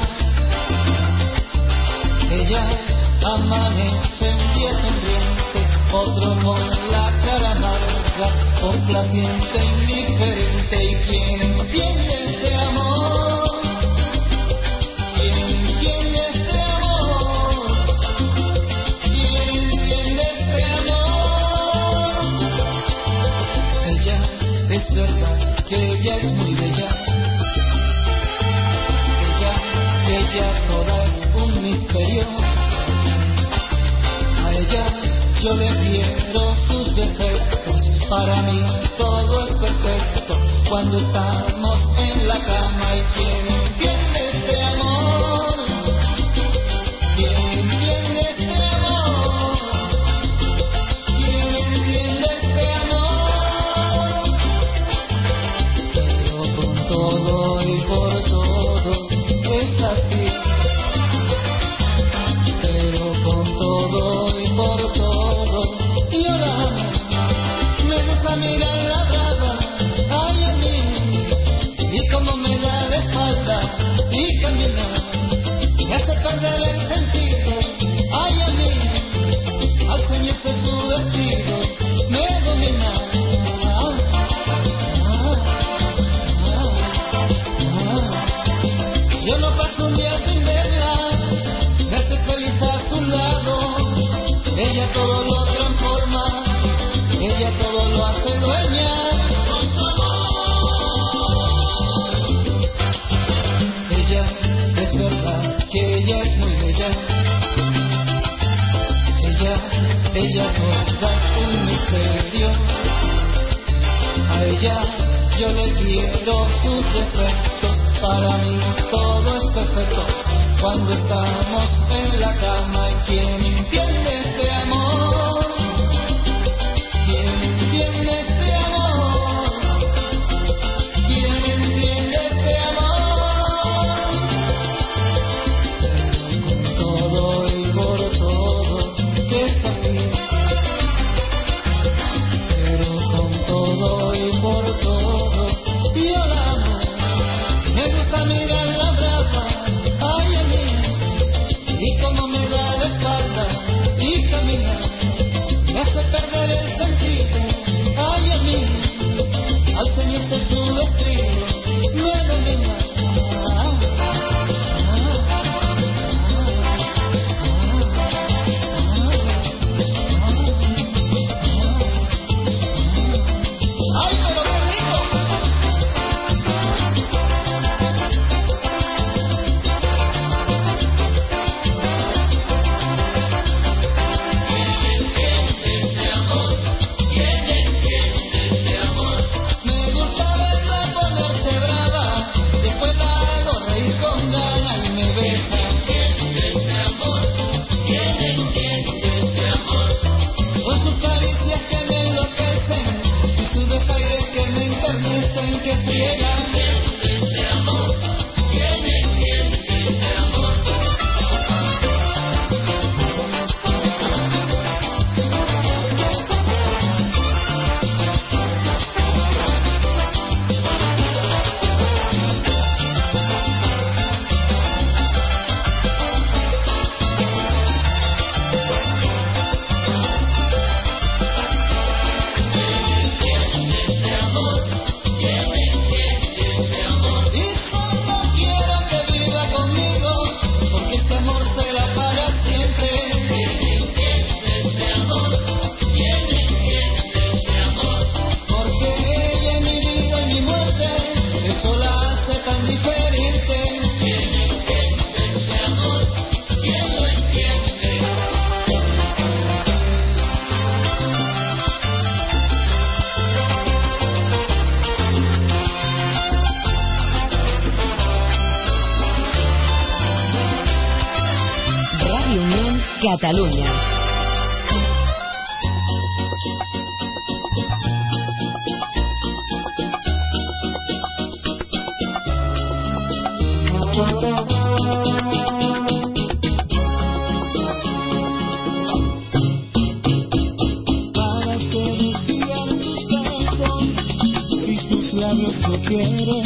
Ella amanece un día sonriente, otro con la cara amarga, complaciente, indiferente. ¿Y quién entiende este amor? ¿Quién entiende este amor? ¿Quién entiende este amor? Ella, es verdad que ella es muy bella. Ella, ella toda es un misterio. A ella yo le quiero sus defectos. Para mí todo es perfecto cuando estamos en la cama. ¿Y quién entiende este amor? ¿Quién entiende este amor? ¿Quién entiende este amor? Pero con todo y por todo es así. Pero con todo y por todo yo la amo. Me gusta mirar la brava, ay a mí, y como me da la espalda y caminar, me hace perder el sentido, ay a mí, al ceñirse su vestido, me domina. Ah, ah, ah, ah. Yo no paso un día sin verla, me hace feliz a su lado, ella todo lo transforma. Ella todo lo hace dueña con su amor. Ella, es verdad que ella es muy bella. Ella, ella toda es un misterio. A ella yo le quiero sus defectos. Para mí todo es perfecto cuando estamos en la cama. ¿Y quién entiende este amor? ¿Quién entiende este amor? ¿Quién entiende este amor? Con todo y por todo es así. Pero con todo y por todo yo la amo. Me gusta mirar la brava, ay a mí, y como me da la espalda y caminar, me hace perder el sentido, ay a mí, al ceñirse su vestido. Catalunya. Para que decían tus besos y tus labios lo quieren.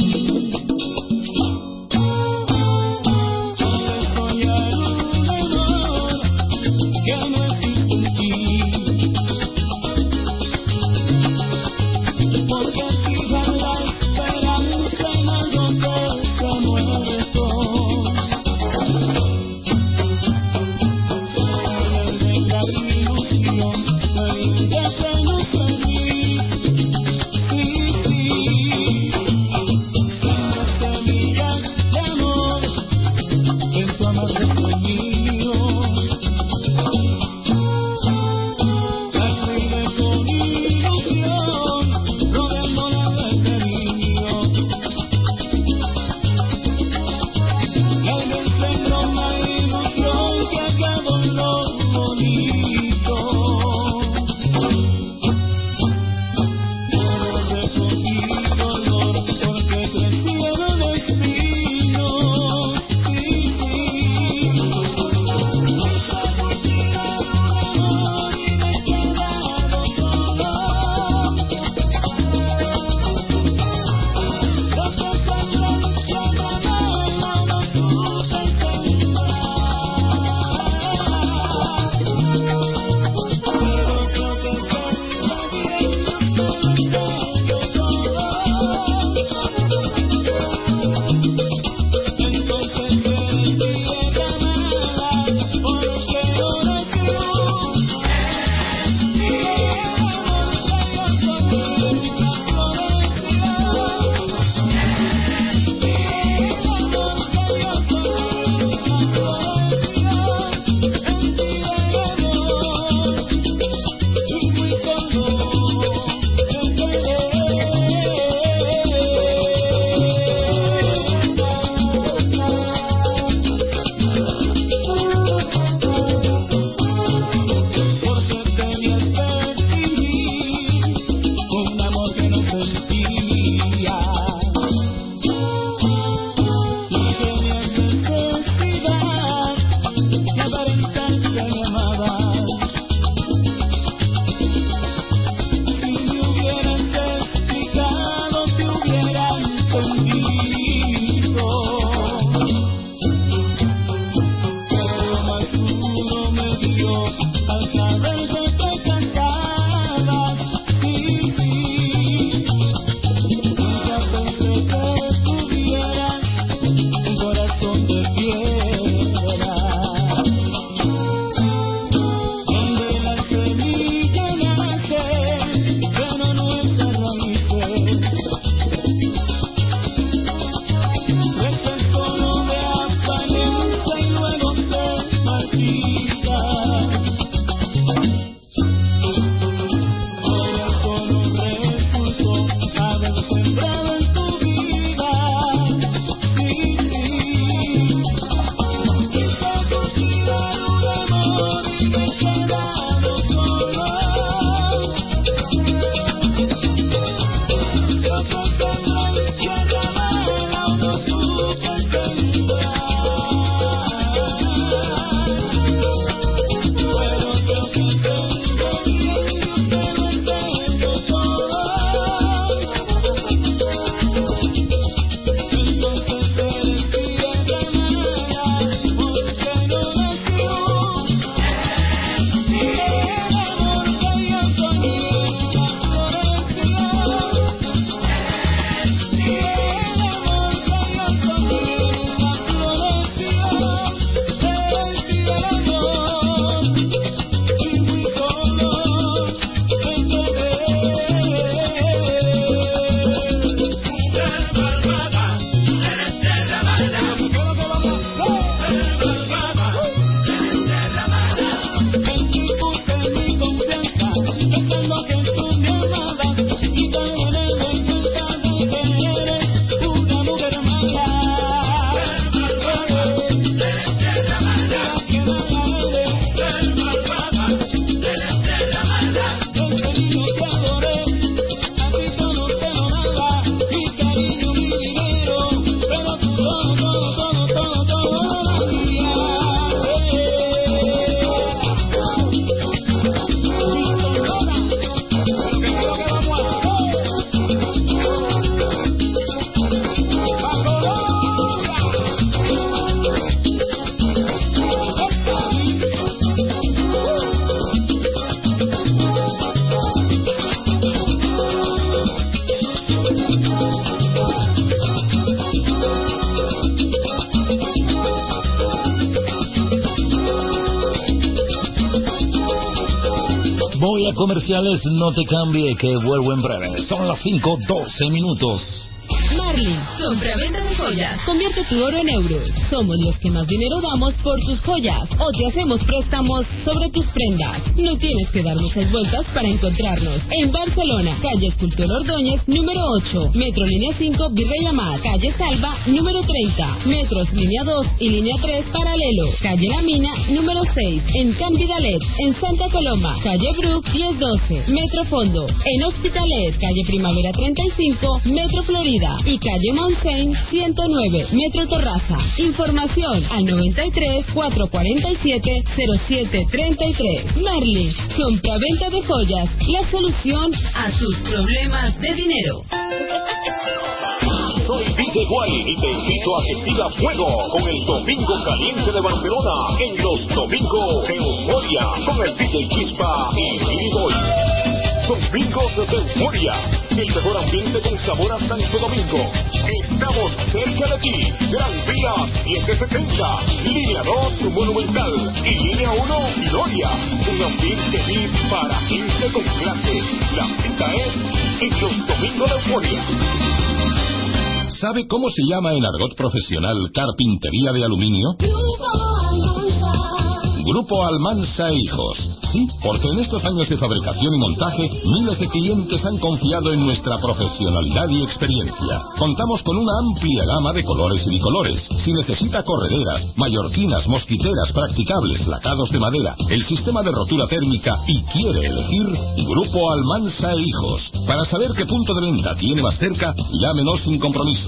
Vaya comerciales, no te cambie, que vuelvo en breve. Son las cinco doce minutos. Marlin, compra-venta de joyas. Convierte tu oro en euros. Somos los que más dinero damos por tus joyas. O te hacemos préstamos sobre tus prendas. No tienes que dar muchas vueltas para encontrarnos. En Barcelona, calle Escultor Ordóñez, número ocho. Metro Línea cinco, Virrey Amat. Calle Salva, número treinta. Metros Línea dos y Línea tres, paralelo. Calle La Mina, número seis. En Candidalet. En Santa Coloma, calle Brook, diez doce. Metro Fondo. En Hospitalet, calle Primavera treinta y cinco. Metro Florida. Y calle Montseny, ciento nueve, Metro Torraza. Información al noventa y tres, cuatrocientos cuarenta y siete, cero siete treinta y tres. Merlin, compra-venta de joyas, la solución a tus problemas de dinero. Soy D J Wally y te invito a que siga fuego con el Domingo Caliente de Barcelona en los Domingos de Euforia con el D J Chispa y Billy Boy. Domingos de Euforia, el mejor ambiente con sabor a Santo Domingo. Estamos cerca de ti. Gran Vía setecientos setenta, Línea dos Monumental y Línea uno Gloria. Un ambiente V I P para gente con clase. La cita es en los Domingos de Euforia. ¿Sabe cómo se llama en argot profesional carpintería de aluminio? Grupo Almansa e Hijos. Sí, porque en estos años de fabricación y montaje, miles de clientes han confiado en nuestra profesionalidad y experiencia. Contamos con una amplia gama de colores y bicolores. Si necesita correderas, mallorquinas, mosquiteras, practicables, lacados de madera, el sistema de rotura térmica y quiere elegir, Grupo Almansa e Hijos. Para saber qué punto de venta tiene más cerca, llámenos sin compromiso.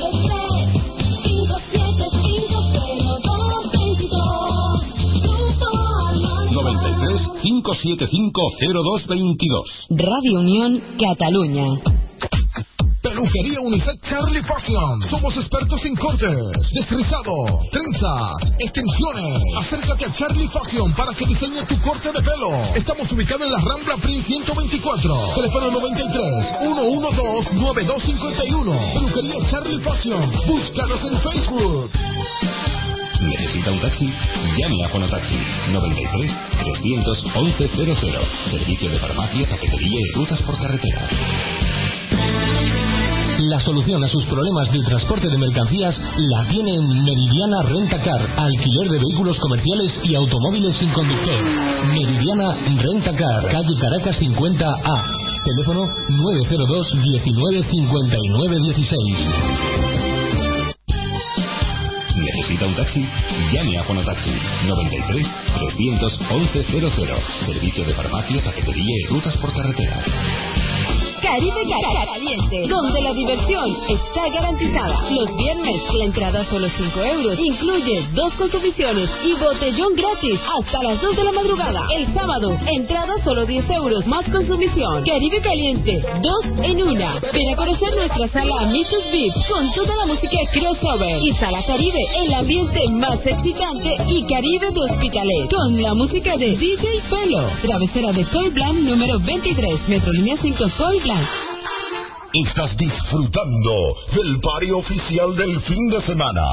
noventa y tres, cinco siete cinco, cero dos veintidós. Radio Unión, Cataluña. Peluquería Unisex Charlie Fashion. Somos expertos en cortes, desrizado, trenzas, extensiones. Acércate a Charlie Fashion para que diseñe tu corte de pelo. Estamos ubicados en la Rambla Prince ciento veinticuatro. Teléfono noventa y tres, ciento doce, noventa y dos cincuenta y uno. Peluquería Charlie Fashion. Búscanos en Facebook. ¿Necesita un taxi? Llame a Fonotaxi noventa y tres, trescientos once cero cero. Servicio de farmacia, paquetería y rutas por carretera. La solución a sus problemas de transporte de mercancías la tiene en Meridiana Rentacar, alquiler de vehículos comerciales y automóviles sin conductor. Meridiana Rentacar, calle Caracas cincuenta A. Teléfono nueve cero dos, diecinueve, cincuenta y nueve dieciséis. ¿Necesita un taxi? Llame a Fonotaxi noventa y tres, trescientos once cero cero. Servicio de farmacia, paquetería y rutas por carretera. Caribe Caliente, donde la diversión está garantizada. Los viernes la entrada solo cinco euros. Incluye dos consumiciones y botellón gratis hasta las dos de la madrugada. El sábado, entrada solo diez euros más consumición. Caribe Caliente, dos en una. Ven a conocer nuestra sala Mitos V I P con toda la música crossover. Y Sala Caribe, el ambiente más excitante y Caribe de Hospitalet con la música de D J Pelo. Travesera de Coy Blanc número veintitrés, Metro Línea cinco Coy Blanc. Estás disfrutando del party oficial del fin de semana.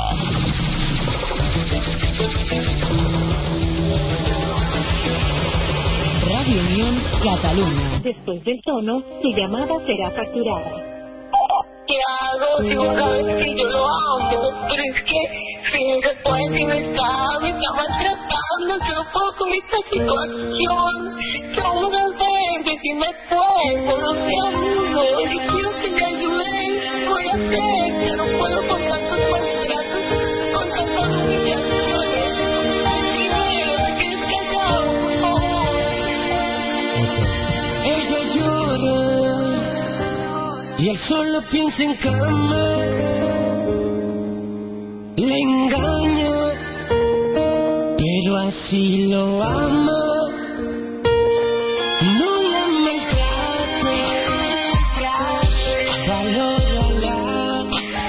Radio Unión, Cataluña. Después del tono, tu llamada será facturada. ¿Qué hago si vos sabes que yo lo amo? Pero es que si no se puede, si no está, me está maltratando, yo no puedo con esta situación. ¿Qué vamos a hacer? Decime pues, solucionalo. Yo quiero que me ayuden. Voy a hacer, yo no puedo con tantos maltratos, con tantas humillaciones. Decime, que es callado, por favor. Ella llora y él solo piensa en cama. Le engaña, pero así lo ama. No la maltrate, valórala.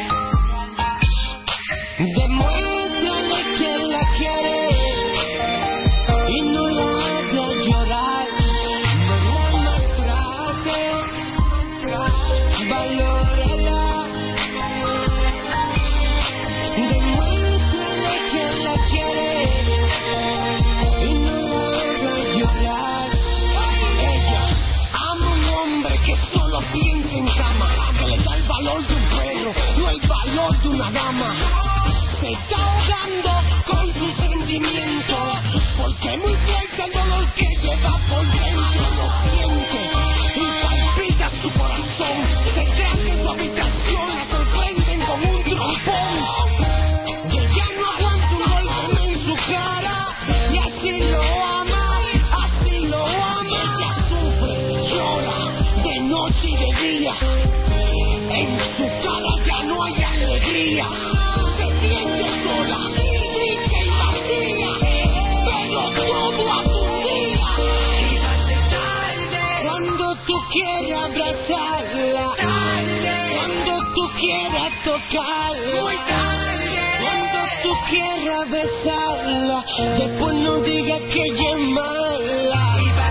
Demuéstrale que la quiere y no la haga llorar. No la maltrate, valórala. Demuéstrale que la quiere y no la haga una dama se está ahogando con sus sentimientos, porque muy fuerte el dolor que lleva por dentro lo siente y palpita su corazón. Se crea que en su habitación la sorprenden con un trompón y ella no aguanta un golpe en su cara y así lo ama, así lo ama. Ella sufre, llora de noche y de día, en su cara ya no hay alegría. Se siente sola, triste y vacía, pero todo a su día. Cuando tú quieras abrazarla, cuando tú quieras tocarla, cuando tú quieras besarla, después no digas que ella es mala.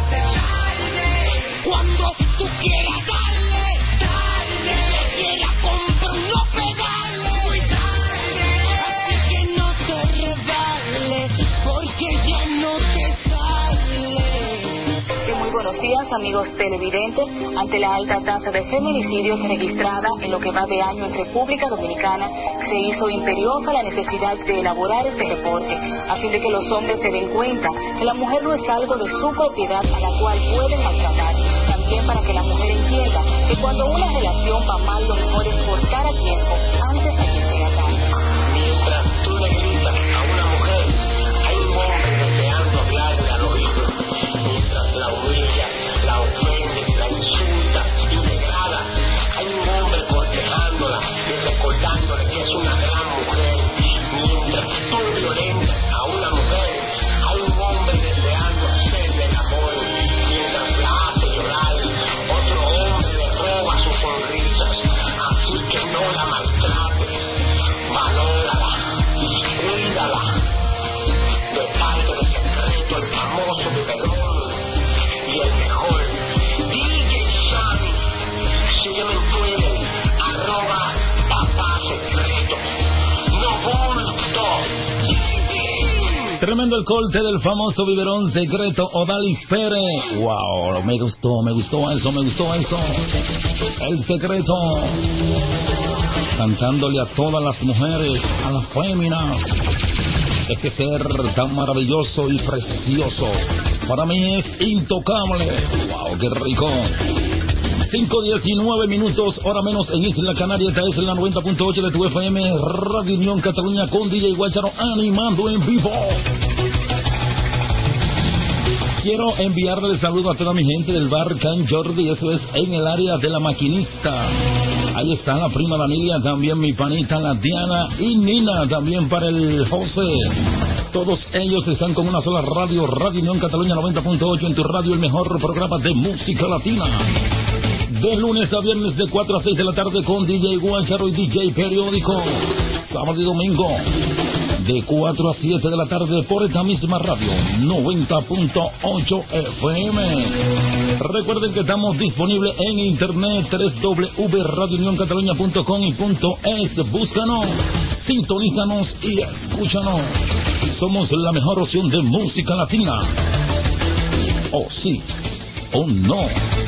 Cuando tú quieras darle, darle, le quieras comprar no pegarle, así que no te rebales, porque ya no te sale. Muy buenos días, amigos televidentes. Ante la alta tasa de feminicidios registrada en lo que va de año en República Dominicana, se hizo imperiosa la necesidad de elaborar este reporte, a fin de que los hombres se den cuenta que la mujer no es algo de su propiedad a la cual pueden maltratar. También para que la mujer entienda que cuando una relación va mal, lo mejor es cortar a tiempo antes de que sea tarde. Mientras tú le gritas a una mujer, hay un hombre deseando hablarle al oído. Mientras la humilla, la ofende, la insulta y degrada, hay un hombre cortejándola y recordándole que es una gran mujer. Mientras tú violentas a una mujer, hay un hombre deseando hacerle el amor. Mientras la hace llorar, otro hombre le roba sus sonrisas. Así que no la maltrates, valórala, cuídala. De parte de Secreto, el famoso biberón y el mejor D J Sammy. Sígueme en Twitter, arroba papá secreto, no bulto. Tremendo el corte del famoso biberón secreto Odalis Pérez. Wow, me gustó, me gustó eso, me gustó eso. El secreto, cantándole a todas las mujeres, a las féminas. Este ser tan maravilloso y precioso, para mí es intocable. Wow, qué rico. cinco diecinueve minutos, hora menos en Isla Canaria. Esta es la noventa punto ocho de tu F M, Radio Unión Cataluña, con D J Guacharo animando en vivo. Quiero enviarle saludo a toda mi gente del bar Can Jordi, eso es en el área de la Maquinista. Ahí está la prima Danilia, también mi panita la Diana y Nina, también para el José. Todos ellos están con una sola radio, Radio Unión Cataluña noventa punto ocho, en tu radio, el mejor programa de música latina. De lunes a viernes de cuatro a seis de la tarde con D J Guacharo y D J Periódico. Sábado y domingo de cuatro a siete de la tarde por esta misma radio, noventa punto ocho F M. Recuerden que estamos disponibles en internet, doble u doble u doble u punto radio unión cataluña punto com y .es. Búscanos, sintonízanos y escúchanos. Somos la mejor opción de música latina. O sí, o no.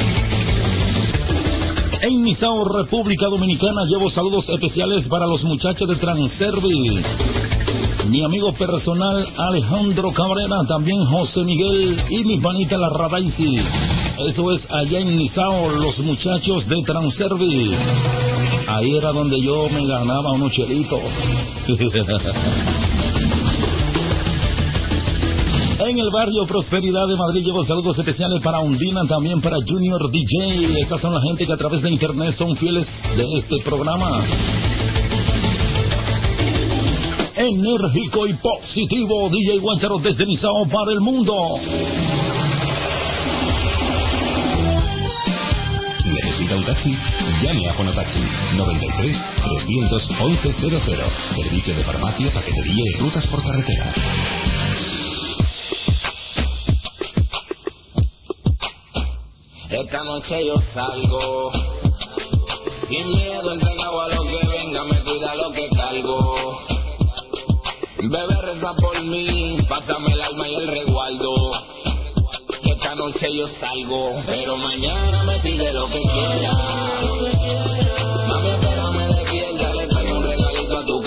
En Misao, República Dominicana, llevo saludos especiales para los muchachos de Transervi. Mi amigo personal Alejandro Cabrera, también José Miguel y mi panita la Radaisi. Eso es allá en Misao, los muchachos de Transervi. Ahí era donde yo me ganaba unos chelitos. En el barrio Prosperidad de Madrid llevo saludos especiales para Undina, también para Junior D J. Esas son la gente que a través de internet son fieles de este programa. Enérgico y positivo, D J Guacharo desde Misao para el mundo. ¿Necesita un taxi? Llame a Fonotaxi noventa y tres, trescientos once cero cero. Servicio de farmacia, paquetería y rutas por carretera. Esta noche yo salgo sin miedo, entregado a lo que venga, me cuida lo que cargo. Bebé, reza por mí, pásame el alma y el resguardo. Esta noche yo salgo, pero mañana me pide lo que quiera. Mami, espérame despierta, le traigo un regalito a tu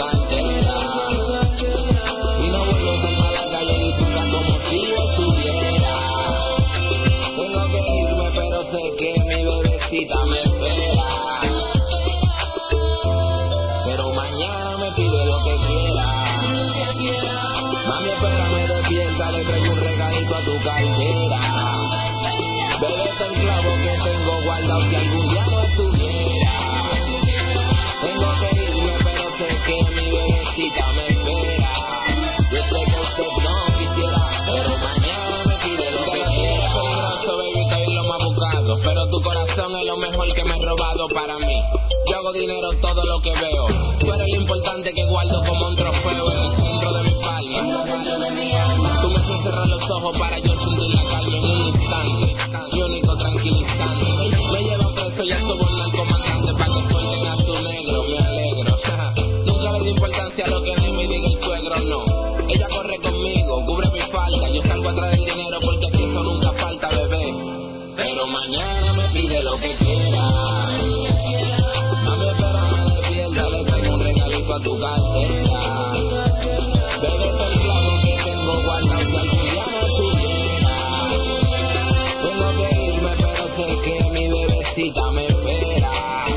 guardado si algún día no estuviera. Tengo que irme, pero sé que mi bebecita me espera. Yo sé que usted no quisiera, pero mañana me pide lo que quiera. Peligroso, baby, estoy lo más buscado, pero tu corazón es lo mejor que me he robado para mí. Yo hago dinero todo lo que veo. Tú eres lo importante que guardo como un trofeo en el centro de mi palma. Tú me haces cerrar los ojos para yo sentir la calma en un instante. Mi único tranquilizante. Me llevan preso y a sobornar al comandante para que suelten a su negro. Me alegro. Nunca le di importancia a lo que dime y diga el suegro, no. Ella corre conmigo, cubre mi falta. Yo salgo atrás del dinero porque aquí eso nunca falta, bebé. Pero mañana me pide lo que quiera. Mami, espérame despierta, le traigo un regalito a tu cartera. Bebé, es el clavo que tengo guardado si algún día no estuviera. Tengo que irme, pero sé que mi bebecita me espera.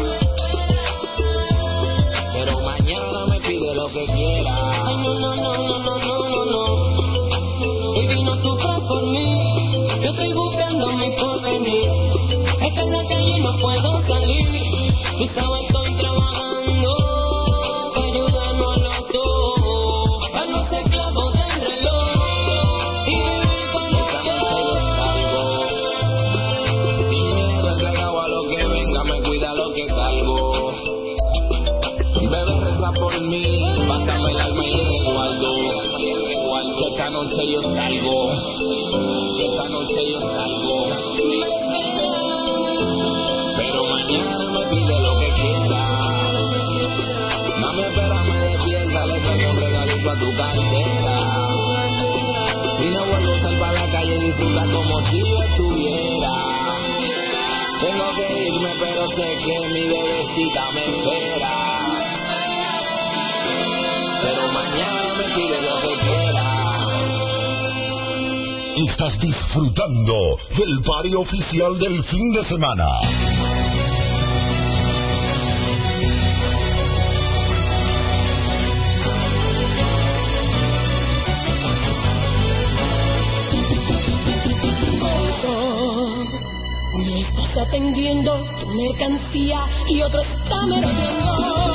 Pero mañana me pide lo que quiera. Ay, no, no, no, no, no, no, no, no. Baby, no sufras por mí. Yo estoy buscando mi porvenir. Es que en la calle no puedo salir. Tú sabes, estoy trabajando para ayudarnos a los dos, para no ser esclavos del reloj y vivir con esta noche yo salgo sin miedo, entregado a lo que venga, me cuida lo que cargo. Bebé, reza por mí, pásame el alma y el resguardo. Que esta noche yo salgo, que esta noche yo salgo. Pero mañana me pide lo que quiera. Mami, espérame despierta, le traigo un regalito a tu cartera. Y no vuelvo a salir para la calle, disfruta como si yo estuviera. Tengo que irme, pero sé que mi bebecita me espera. Pero mañana me pide lo que quiera. Estás disfrutando del party oficial del fin de semana. Uno estás atendiendo tu mercancía y otro está merodeando.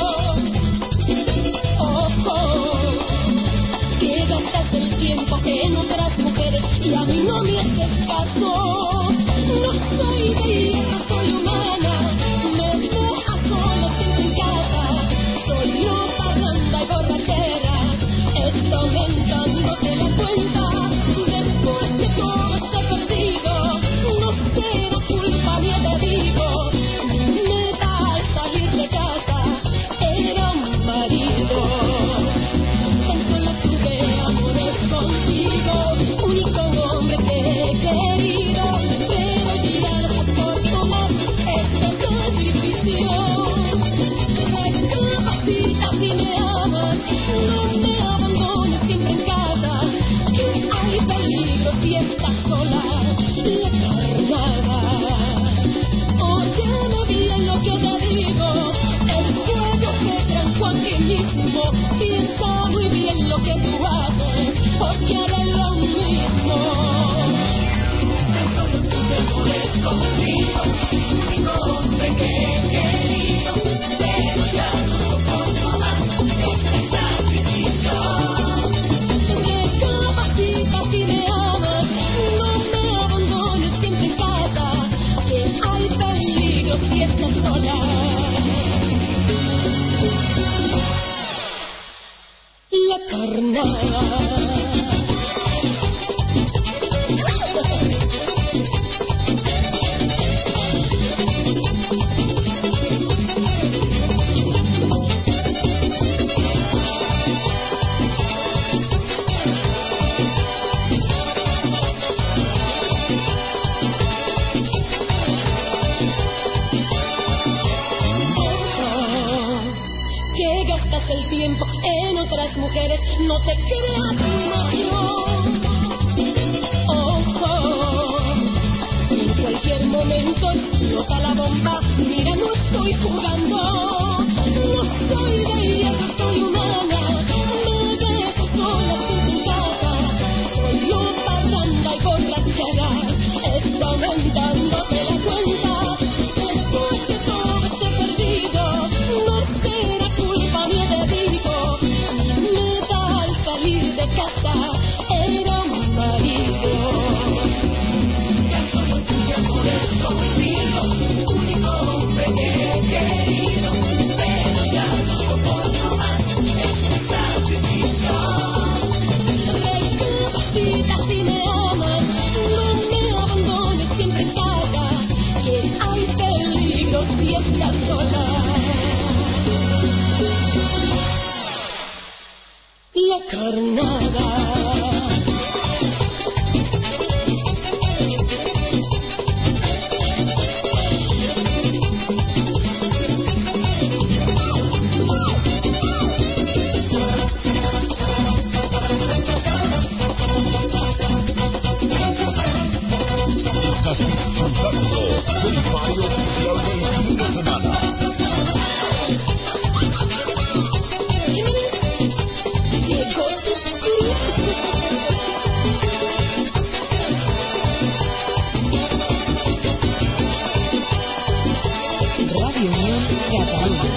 Ojo, que gastas el tiempo en otras mujeres y a mí no me haces caso. No soy bella, soy humana, me dejas solo siempre en casa. Soy loca, parranda y borrachera, esto aumentándote la cuenta. Después de todo este perdido, no será culpa mía, te digo. Mi meta al salir de casa era un marido. Tan solo tuve amores contigo, único hombre que he querido, pero ya no soporto más este sacrificio. Recapacita si me amas, no me abandones siempre en casa, que hay peligro si estás sola, la carnada. Óyeme bien lo que te digo, el fuego se trancó aquí mismo, piensa muy bien lo que tú haces, porque haré lo mismo. Solo tú te mueres conmigo, único hombre que he querido, pero ya no soporto más este sacrificio. Recapacita si me amas, no me abandones siempre en casa, que hay peligro si estás sola. La carnada. Que gastas el tiempo en otras mujeres, no te creas tu imagen. Ojo, en cualquier momento nota la bomba, mira, no estoy jugando. No soy bella, no soy humana, me dejo sola sin tu casa. Soy loca, parranda y borrachera, está aumentándote la cuenta. buscar nada. Estás disfrutando del barrio oficial del fin de semana. Radio Unión Cataluña.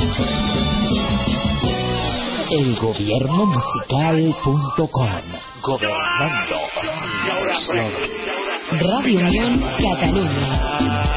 El gobierno musical punto com. Gobernando sin eslogan. Radio Unión Cataluña.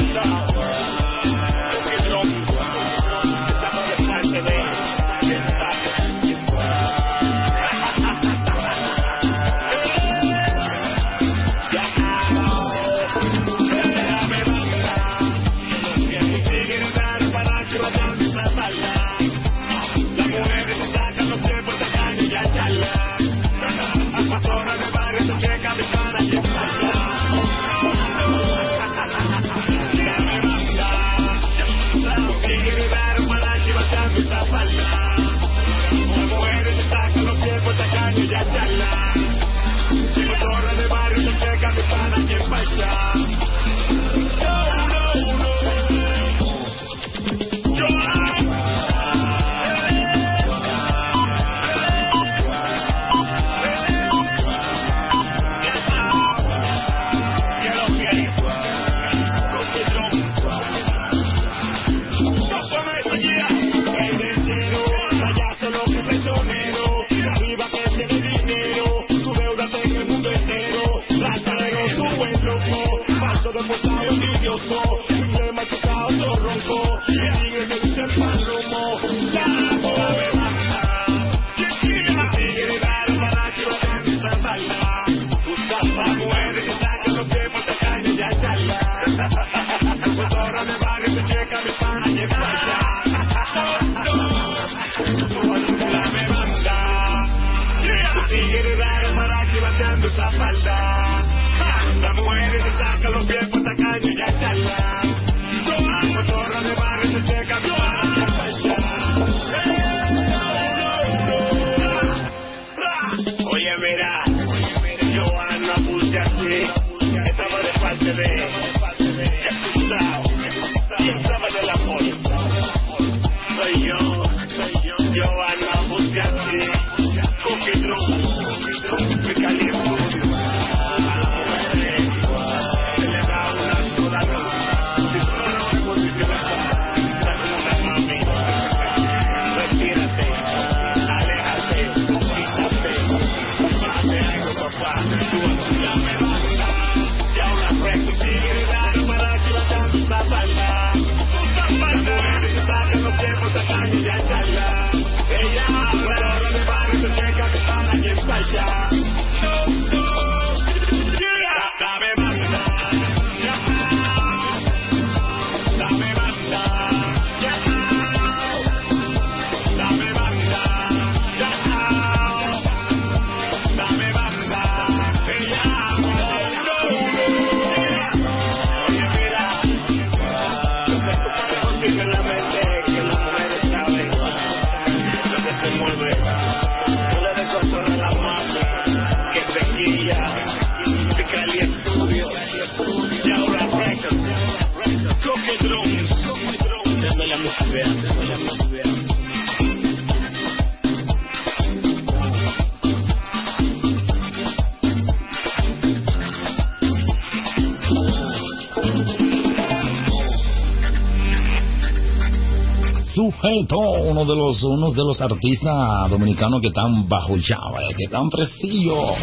Sujeto, uno de los unos de los artistas dominicanos que están bajo llave, que están fresillos.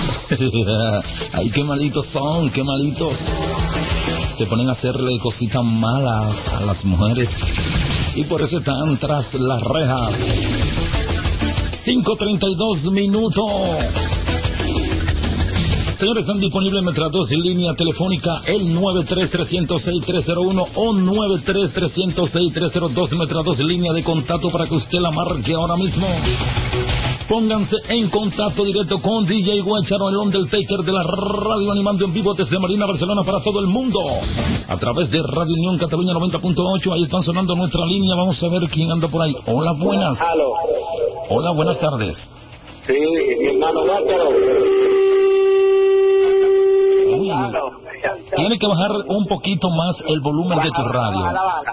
Ay, qué malitos son, qué malitos. Se ponen a hacerle cositas malas a las mujeres y por eso están tras las rejas. cinco treinta y dos minutos. Señores, están disponibles nuestras dos líneas telefónicas, el nueve tres tres cero seis tres cero uno o nueve tres tres cero seis tres cero dos, nuestras dos líneas de contacto para que usted la marque ahora mismo. Pónganse en contacto directo con D J Guacharo, el Undertaker de la radio, animando en vivo desde Marina, Barcelona, para todo el mundo, a través de Radio Unión Cataluña noventa punto ocho. Ahí están sonando nuestra línea. Vamos a ver quién anda por ahí. Hola, buenas. Aló. Hola, buenas tardes. Sí, mi hermano Guacharo. Uy, tiene que bajar un poquito más el volumen de tu radio.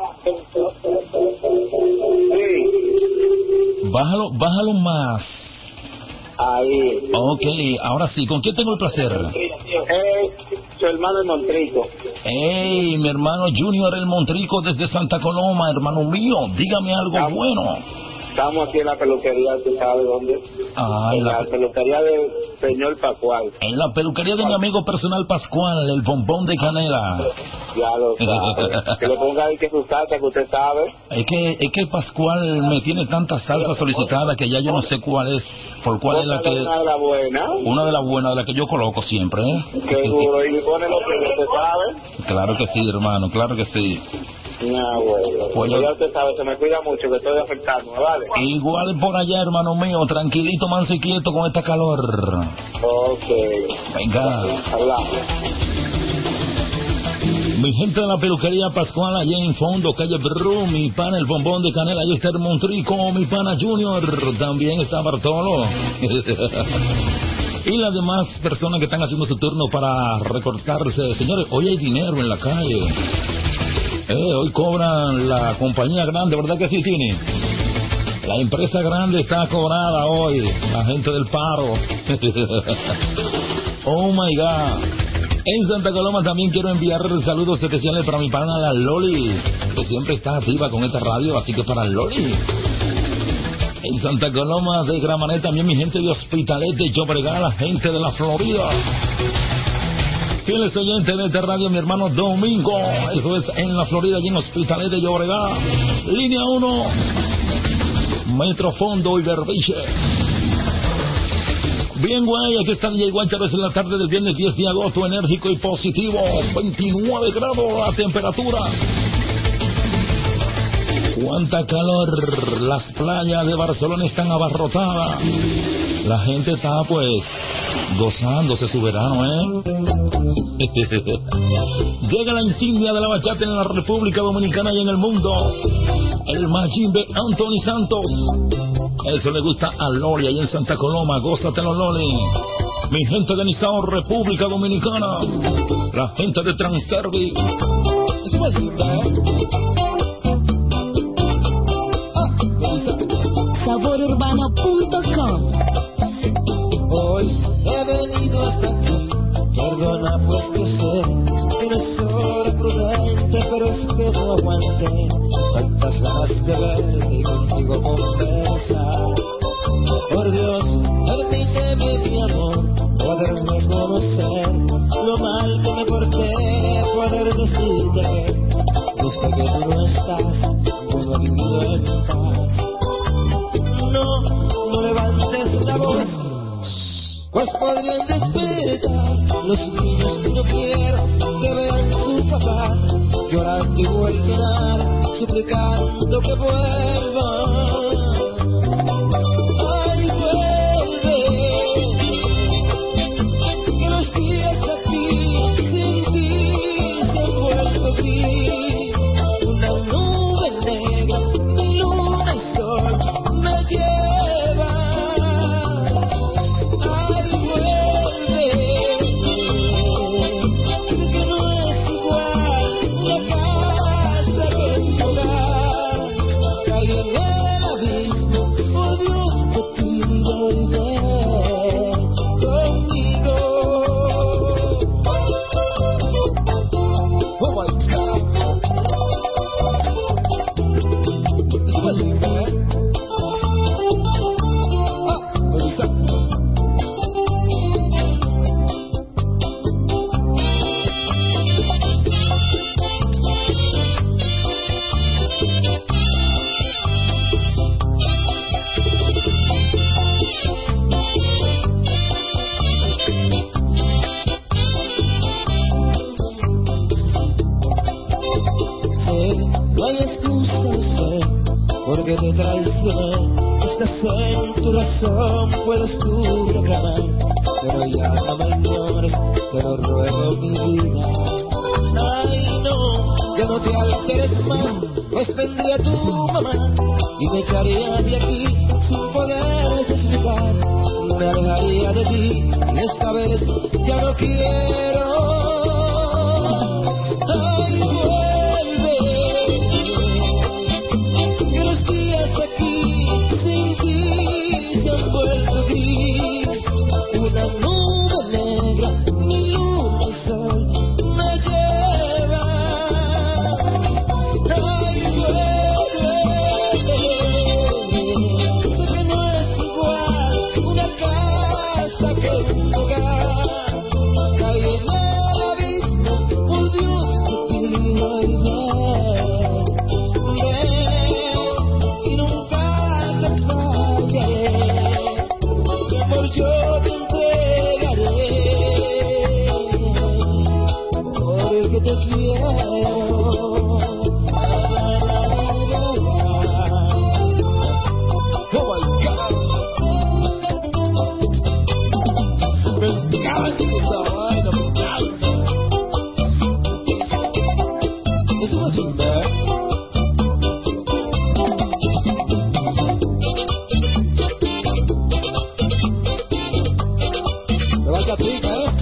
Bájalo, bájalo más. Ahí. Ok, ahora sí. ¿Con quién tengo el placer? Eh, su hermano el Montrico. Hey, mi hermano Junior el Montrico desde Santa Coloma, hermano mío. Dígame algo Estamos, bueno. Estamos aquí en la peluquería, ¿tú sabes dónde? Ah, en la, la peluquería del señor Pascual. En la peluquería de mi amigo personal Pascual, el bombón de canela. Ya lo sabe. Que le ponga ahí que su salsa, que usted sabe. Es que, es que Pascual me tiene tanta salsa solicitada que ya yo no sé cuál es, por cuál es la que... Una de las buenas. Una de las buenas, de la que yo coloco siempre, ¿eh? Qué duro, y pone lo que usted sabe. Claro que sí, hermano, claro que sí. No, bueno. Pues ya usted sabe, se me cuida mucho, que estoy afectando, ¿vale? Igual por allá, hermano mío, tranquilito, manso y quieto con este calor. Ok. Venga. Hablamos. Mi gente de la peluquería Pascual, allá en fondo, calle Bru, mi pana el bombón de canela, ahí está el Montrico, mi pana Junior, también está Bartolo. Y las demás personas que están haciendo su turno para recortarse. Señores, hoy hay dinero en la calle. Eh, hoy cobran la compañía grande, ¿verdad que sí, Tini? La empresa grande está cobrada hoy, la gente del paro. Oh my God. En Santa Coloma también quiero enviar saludos especiales para mi pana la Loli, que siempre está activa con esta radio, así que para Loli. En Santa Coloma de Gramanet también mi gente de Hospitalet de Llobregat, la gente de la Florida. Fieles oyentes de esta radio, mi hermano Domingo, eso es en la Florida, allí en Hospitalet de Llobregat. Línea uno, Metro Fondo y Berbiche. Bien, guay, aquí está D J Guacharo, es en la tarde del viernes diez de agosto, enérgico y positivo, veintinueve grados la temperatura. Cuánta calor, las playas de Barcelona están abarrotadas. La gente está pues gozándose su verano, ¿eh? Llega la insignia de la bachata en la República Dominicana y en el mundo. El Majimbe Anthony Santos. Eso le gusta a Loli ahí en Santa Coloma. Gózatelo, Loli. Mi gente de Nizao, República Dominicana. La gente de Transervi. sabor urbano punto com. Hoy he venido hasta aquí, perdona pues yo sé que no es hora prudente, pero es que no aguanté tantas ganas de verte y contigo conversar. Por Dios, permíteme mi amor, poderme conocer, lo mal que me porté, poder decirte que desde que tú no estás, no he vivido en paz. No, no levantes la voz, pues podrían despertar los niños que no quiero que vean su papá llorando y vuelvan suplicando que vuelva. Ay, vuelve, que los días aquí sin ti se han vuelto gris. Una nube negra, mi luna y sol me lleva. Ay, vuelve, que no es igual la casa que tu hogar. Caí en el abismo, por Dios te pido y ven conmigo. Oh my God. Después de ver, ah, exacto. Sé, no hay excusa, lo sé, porque te traicioné. estás en tu razón, puedes tú reclamar, pero ya no me ignores, te lo ruego mi vida. Ay no, ya no te alteres más, pues vendría tu mamá y me echaría de aquí sin poder explicar. Me alejaría de ti y esta vez ya no quiero. Ay, vuelve, que los días aquí sin ti se han vuelto gris. Una nube negra, mi luna y sol me lleva. Ay, vuelve, sé que no es igual una casa que un hogar. Caí en el abismo, por Dios te pido y ven, ven y nunca te fallaré. Mi amor yo te entregaré, porque te quiero. Oh my God, me encanta esa vaina, me encanta. Eso no es un ver. Me va a pica, ¿eh?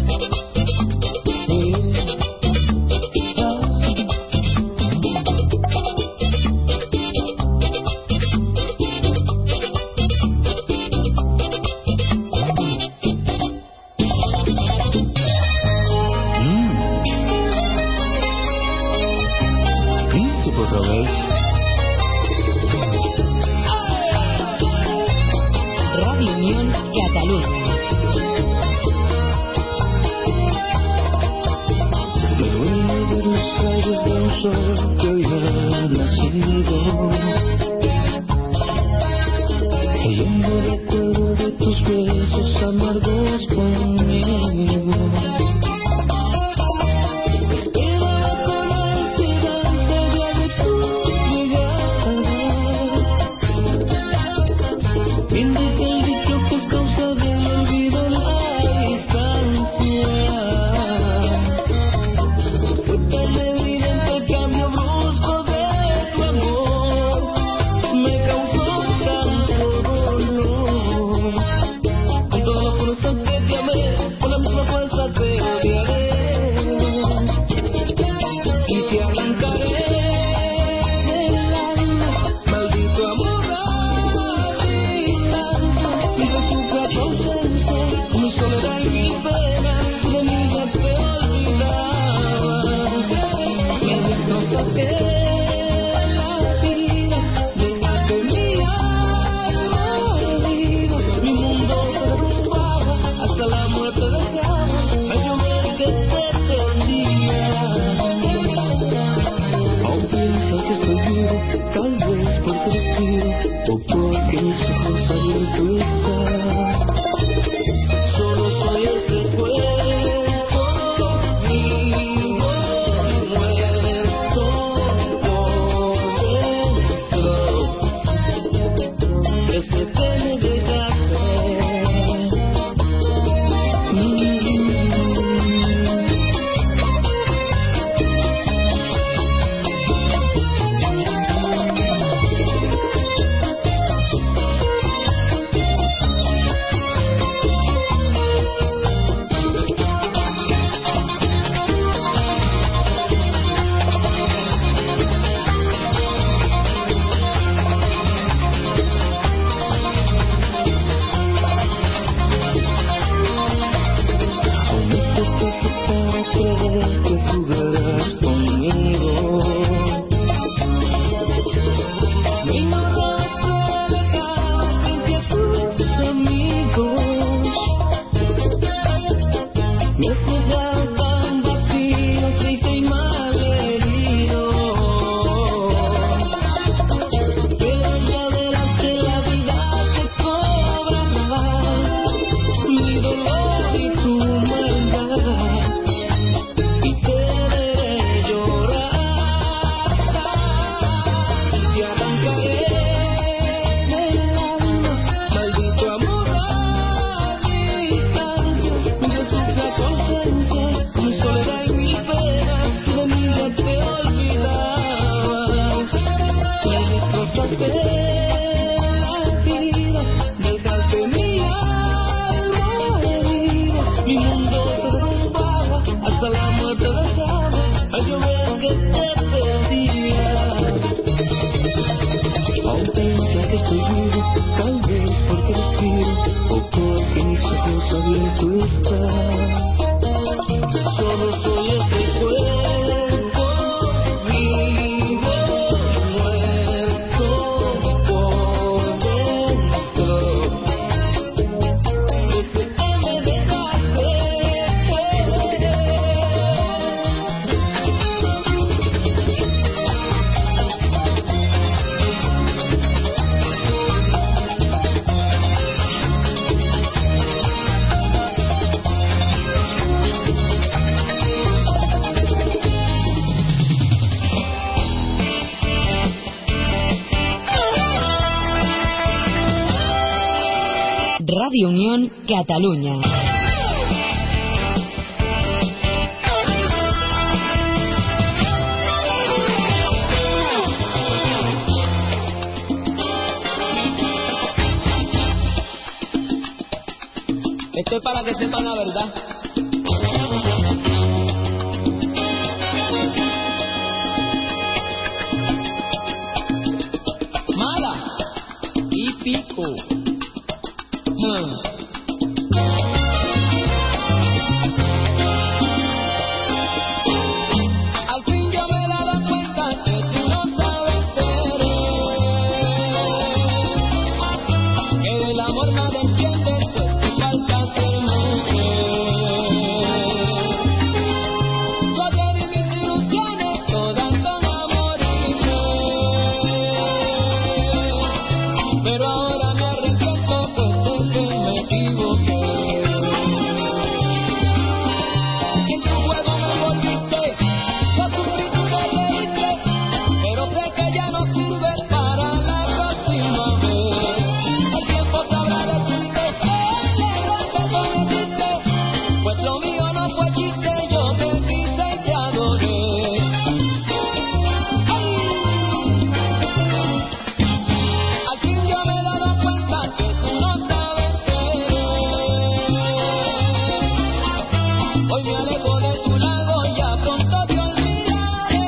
Príncipe otra vez. Radio Unión Cataluña. Me duele ver los rayos de un sol que hoy ha nacido, cayendo de todo de tus besos amargos conmigo. Esperaba con ansiedad el día de tu llegada, bien dice el dicho que es causa del Radio Unión Cataluña. Esto es para que sepan la verdad. Mala y pico. Hmm. Al fin yo me he dado cuenta que tú no sabes querer, que el amor nada entiende, pues te falta ser mujer. Yo te di mis ilusiones, todas son amor y fe, pero ahora me arrepiento, pues sé que me equivoqué. En tu juego me envolviste, yo sufrí, tú te reíste, pero sé que ya no sirves para la próxima vez. El tiempo sabrá decirte el error que cometiste, pues lo mío no fue chiste, yo te quise y te adoré. ¡Ay! Al fin yo me he dado cuenta que tú no sabes querer. Hoy me alejo de tu lado, ya pronto te olvidaré.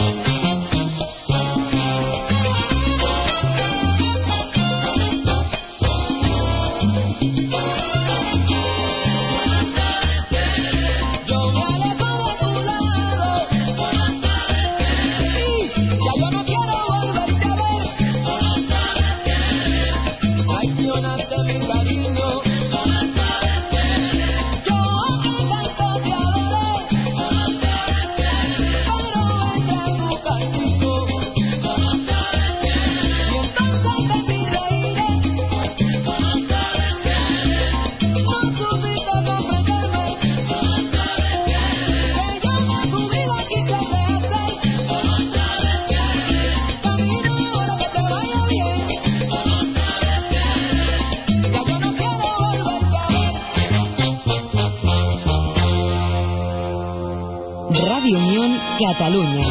Yo me alejo de tu lado, y ya yo no quiero volverte a ver. Traicionaste mi cariño, yo que tanto te adoré, pero entré en tu castigo, y entonces de ti reiré. No supiste comprenderme, que yo con tu vida quise rehacer. Camina ahora, que te vaya bien, ya yo no quiero volverte a ver. Radio Unión Cataluña.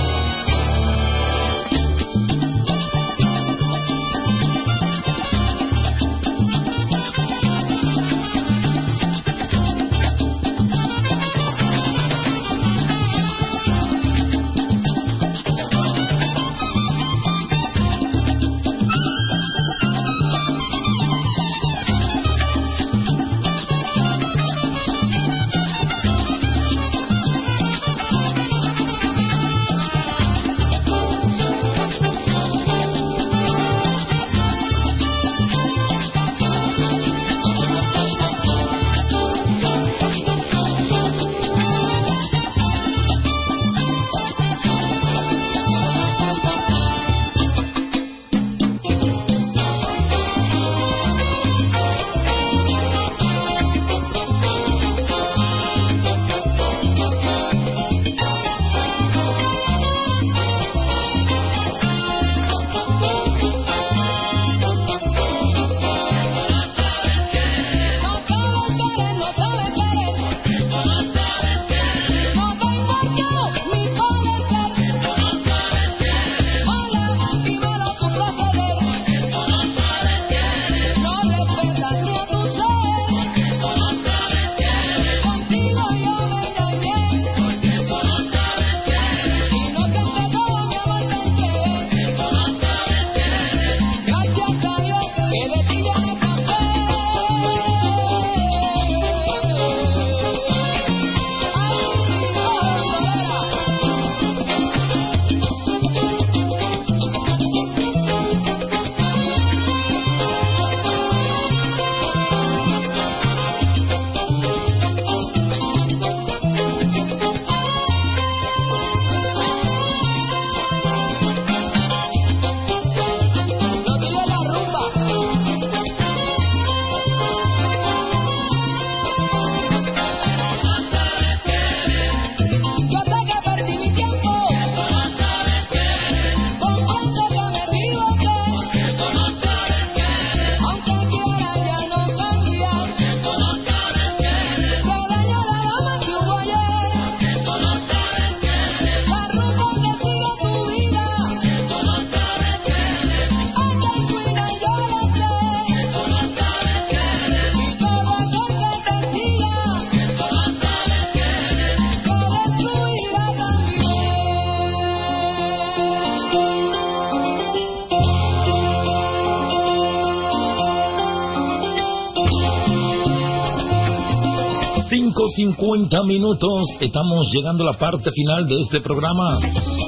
cincuenta minutos. Estamos llegando a la parte final de este programa.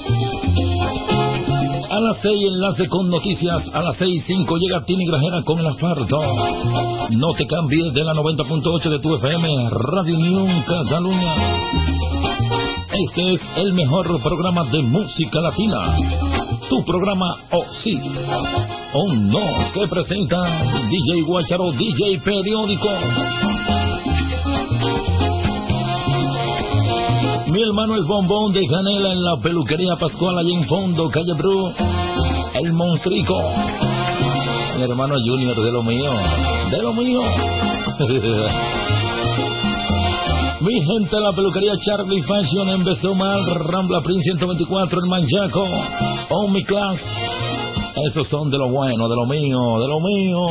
A las seis, enlace con noticias. A las seis cinco llega Tini Grajera con el asfalto. No te cambies de la noventa punto ocho de tu F M, Radio Unión Cataluña. Este es el mejor programa de música latina. Tu programa, oh sí, oh no, que presenta D J Guacharo, D J Periódico. Mi hermano el bombón de canela en la peluquería Pascual, allá en fondo, calle Bru, el monstrico. Mi hermano Junior, de lo mío, de lo mío. Mi gente de la peluquería Charlie Fashion en Besomal, Rambla Prince ciento veinticuatro, el Manchaco, Omi Class. Esos son de lo bueno, de lo mío, de lo mío.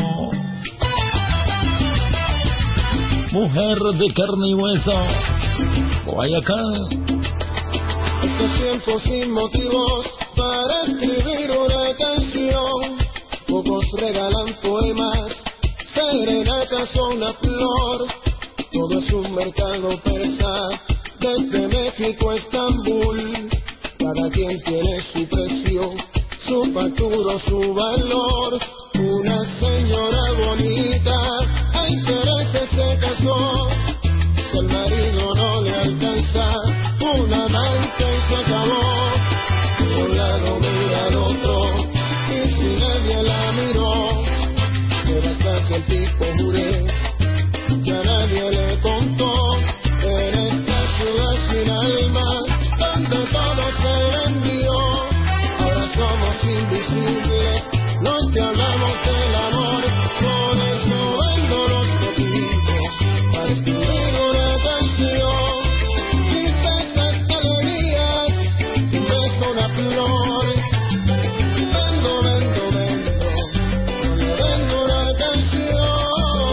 Mujer de carne y hueso, Guayacán. Estos tiempos sin motivos para escribir una canción. Pocos regalan poemas, serenatas o una flor. Todo es un mercado persa, desde México a Estambul. Cada quien tiene su precio, su factura o su valor. Una señora bonita a intereses se casó. Si el marido no le alcanza, un amante y se acabó. De un lado mira al otro, y si nadie la miró, pero hasta que el tipo jure, ya nadie le contó. En esta ciudad sin alma, donde todo se vendió, ahora somos invisibles los que hablamos del amor. Por eso vendo los copitos para escribir una canción. Tristezas, alegrías, un beso, una flor. Vendo, vendo, vendo, le vendo una canción.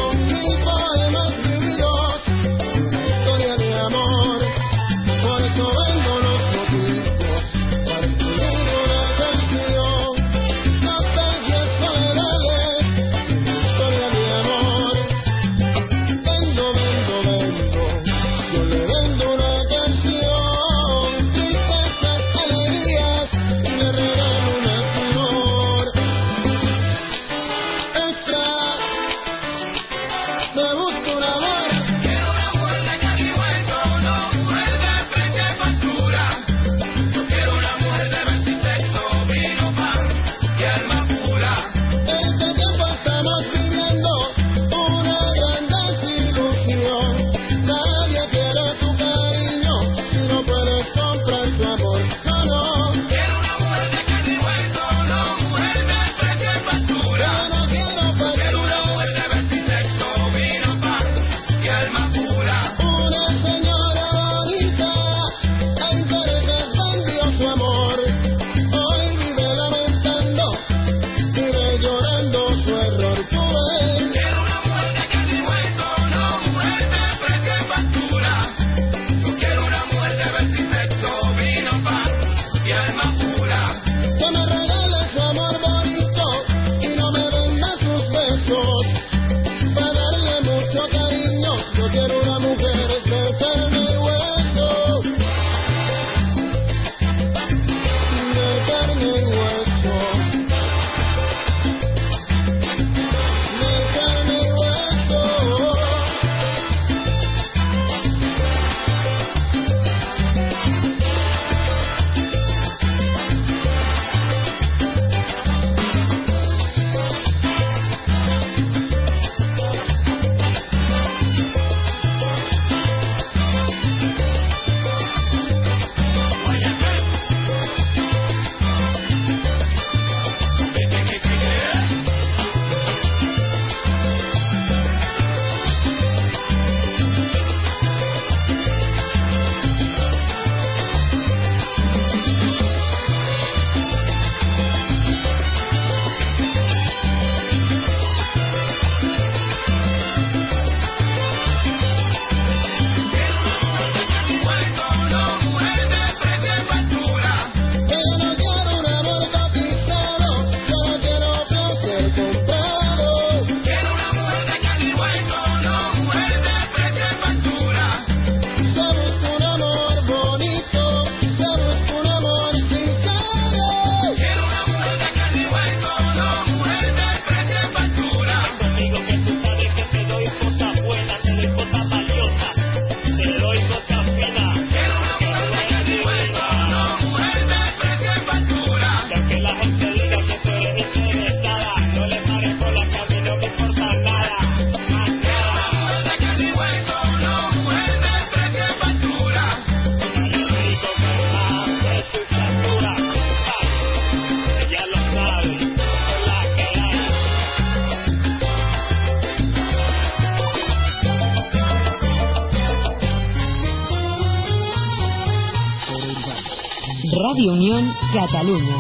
Radio Unión Cataluña.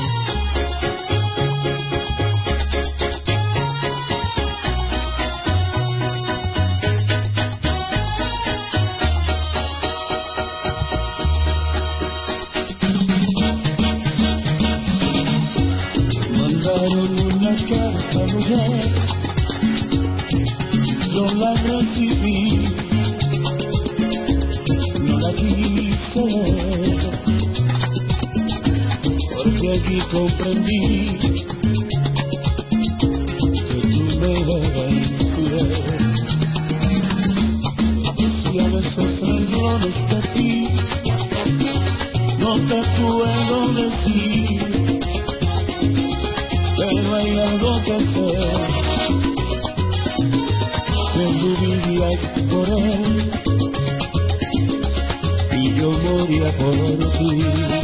Mandaron una carta mujer, yo la recibí, no la quise leer, porque allí comprendí que tú me eras infiel. Decían esos renglones de ti, no te puedo decir, pero hay algo que sé, que tú vivías por él y yo moría por ti.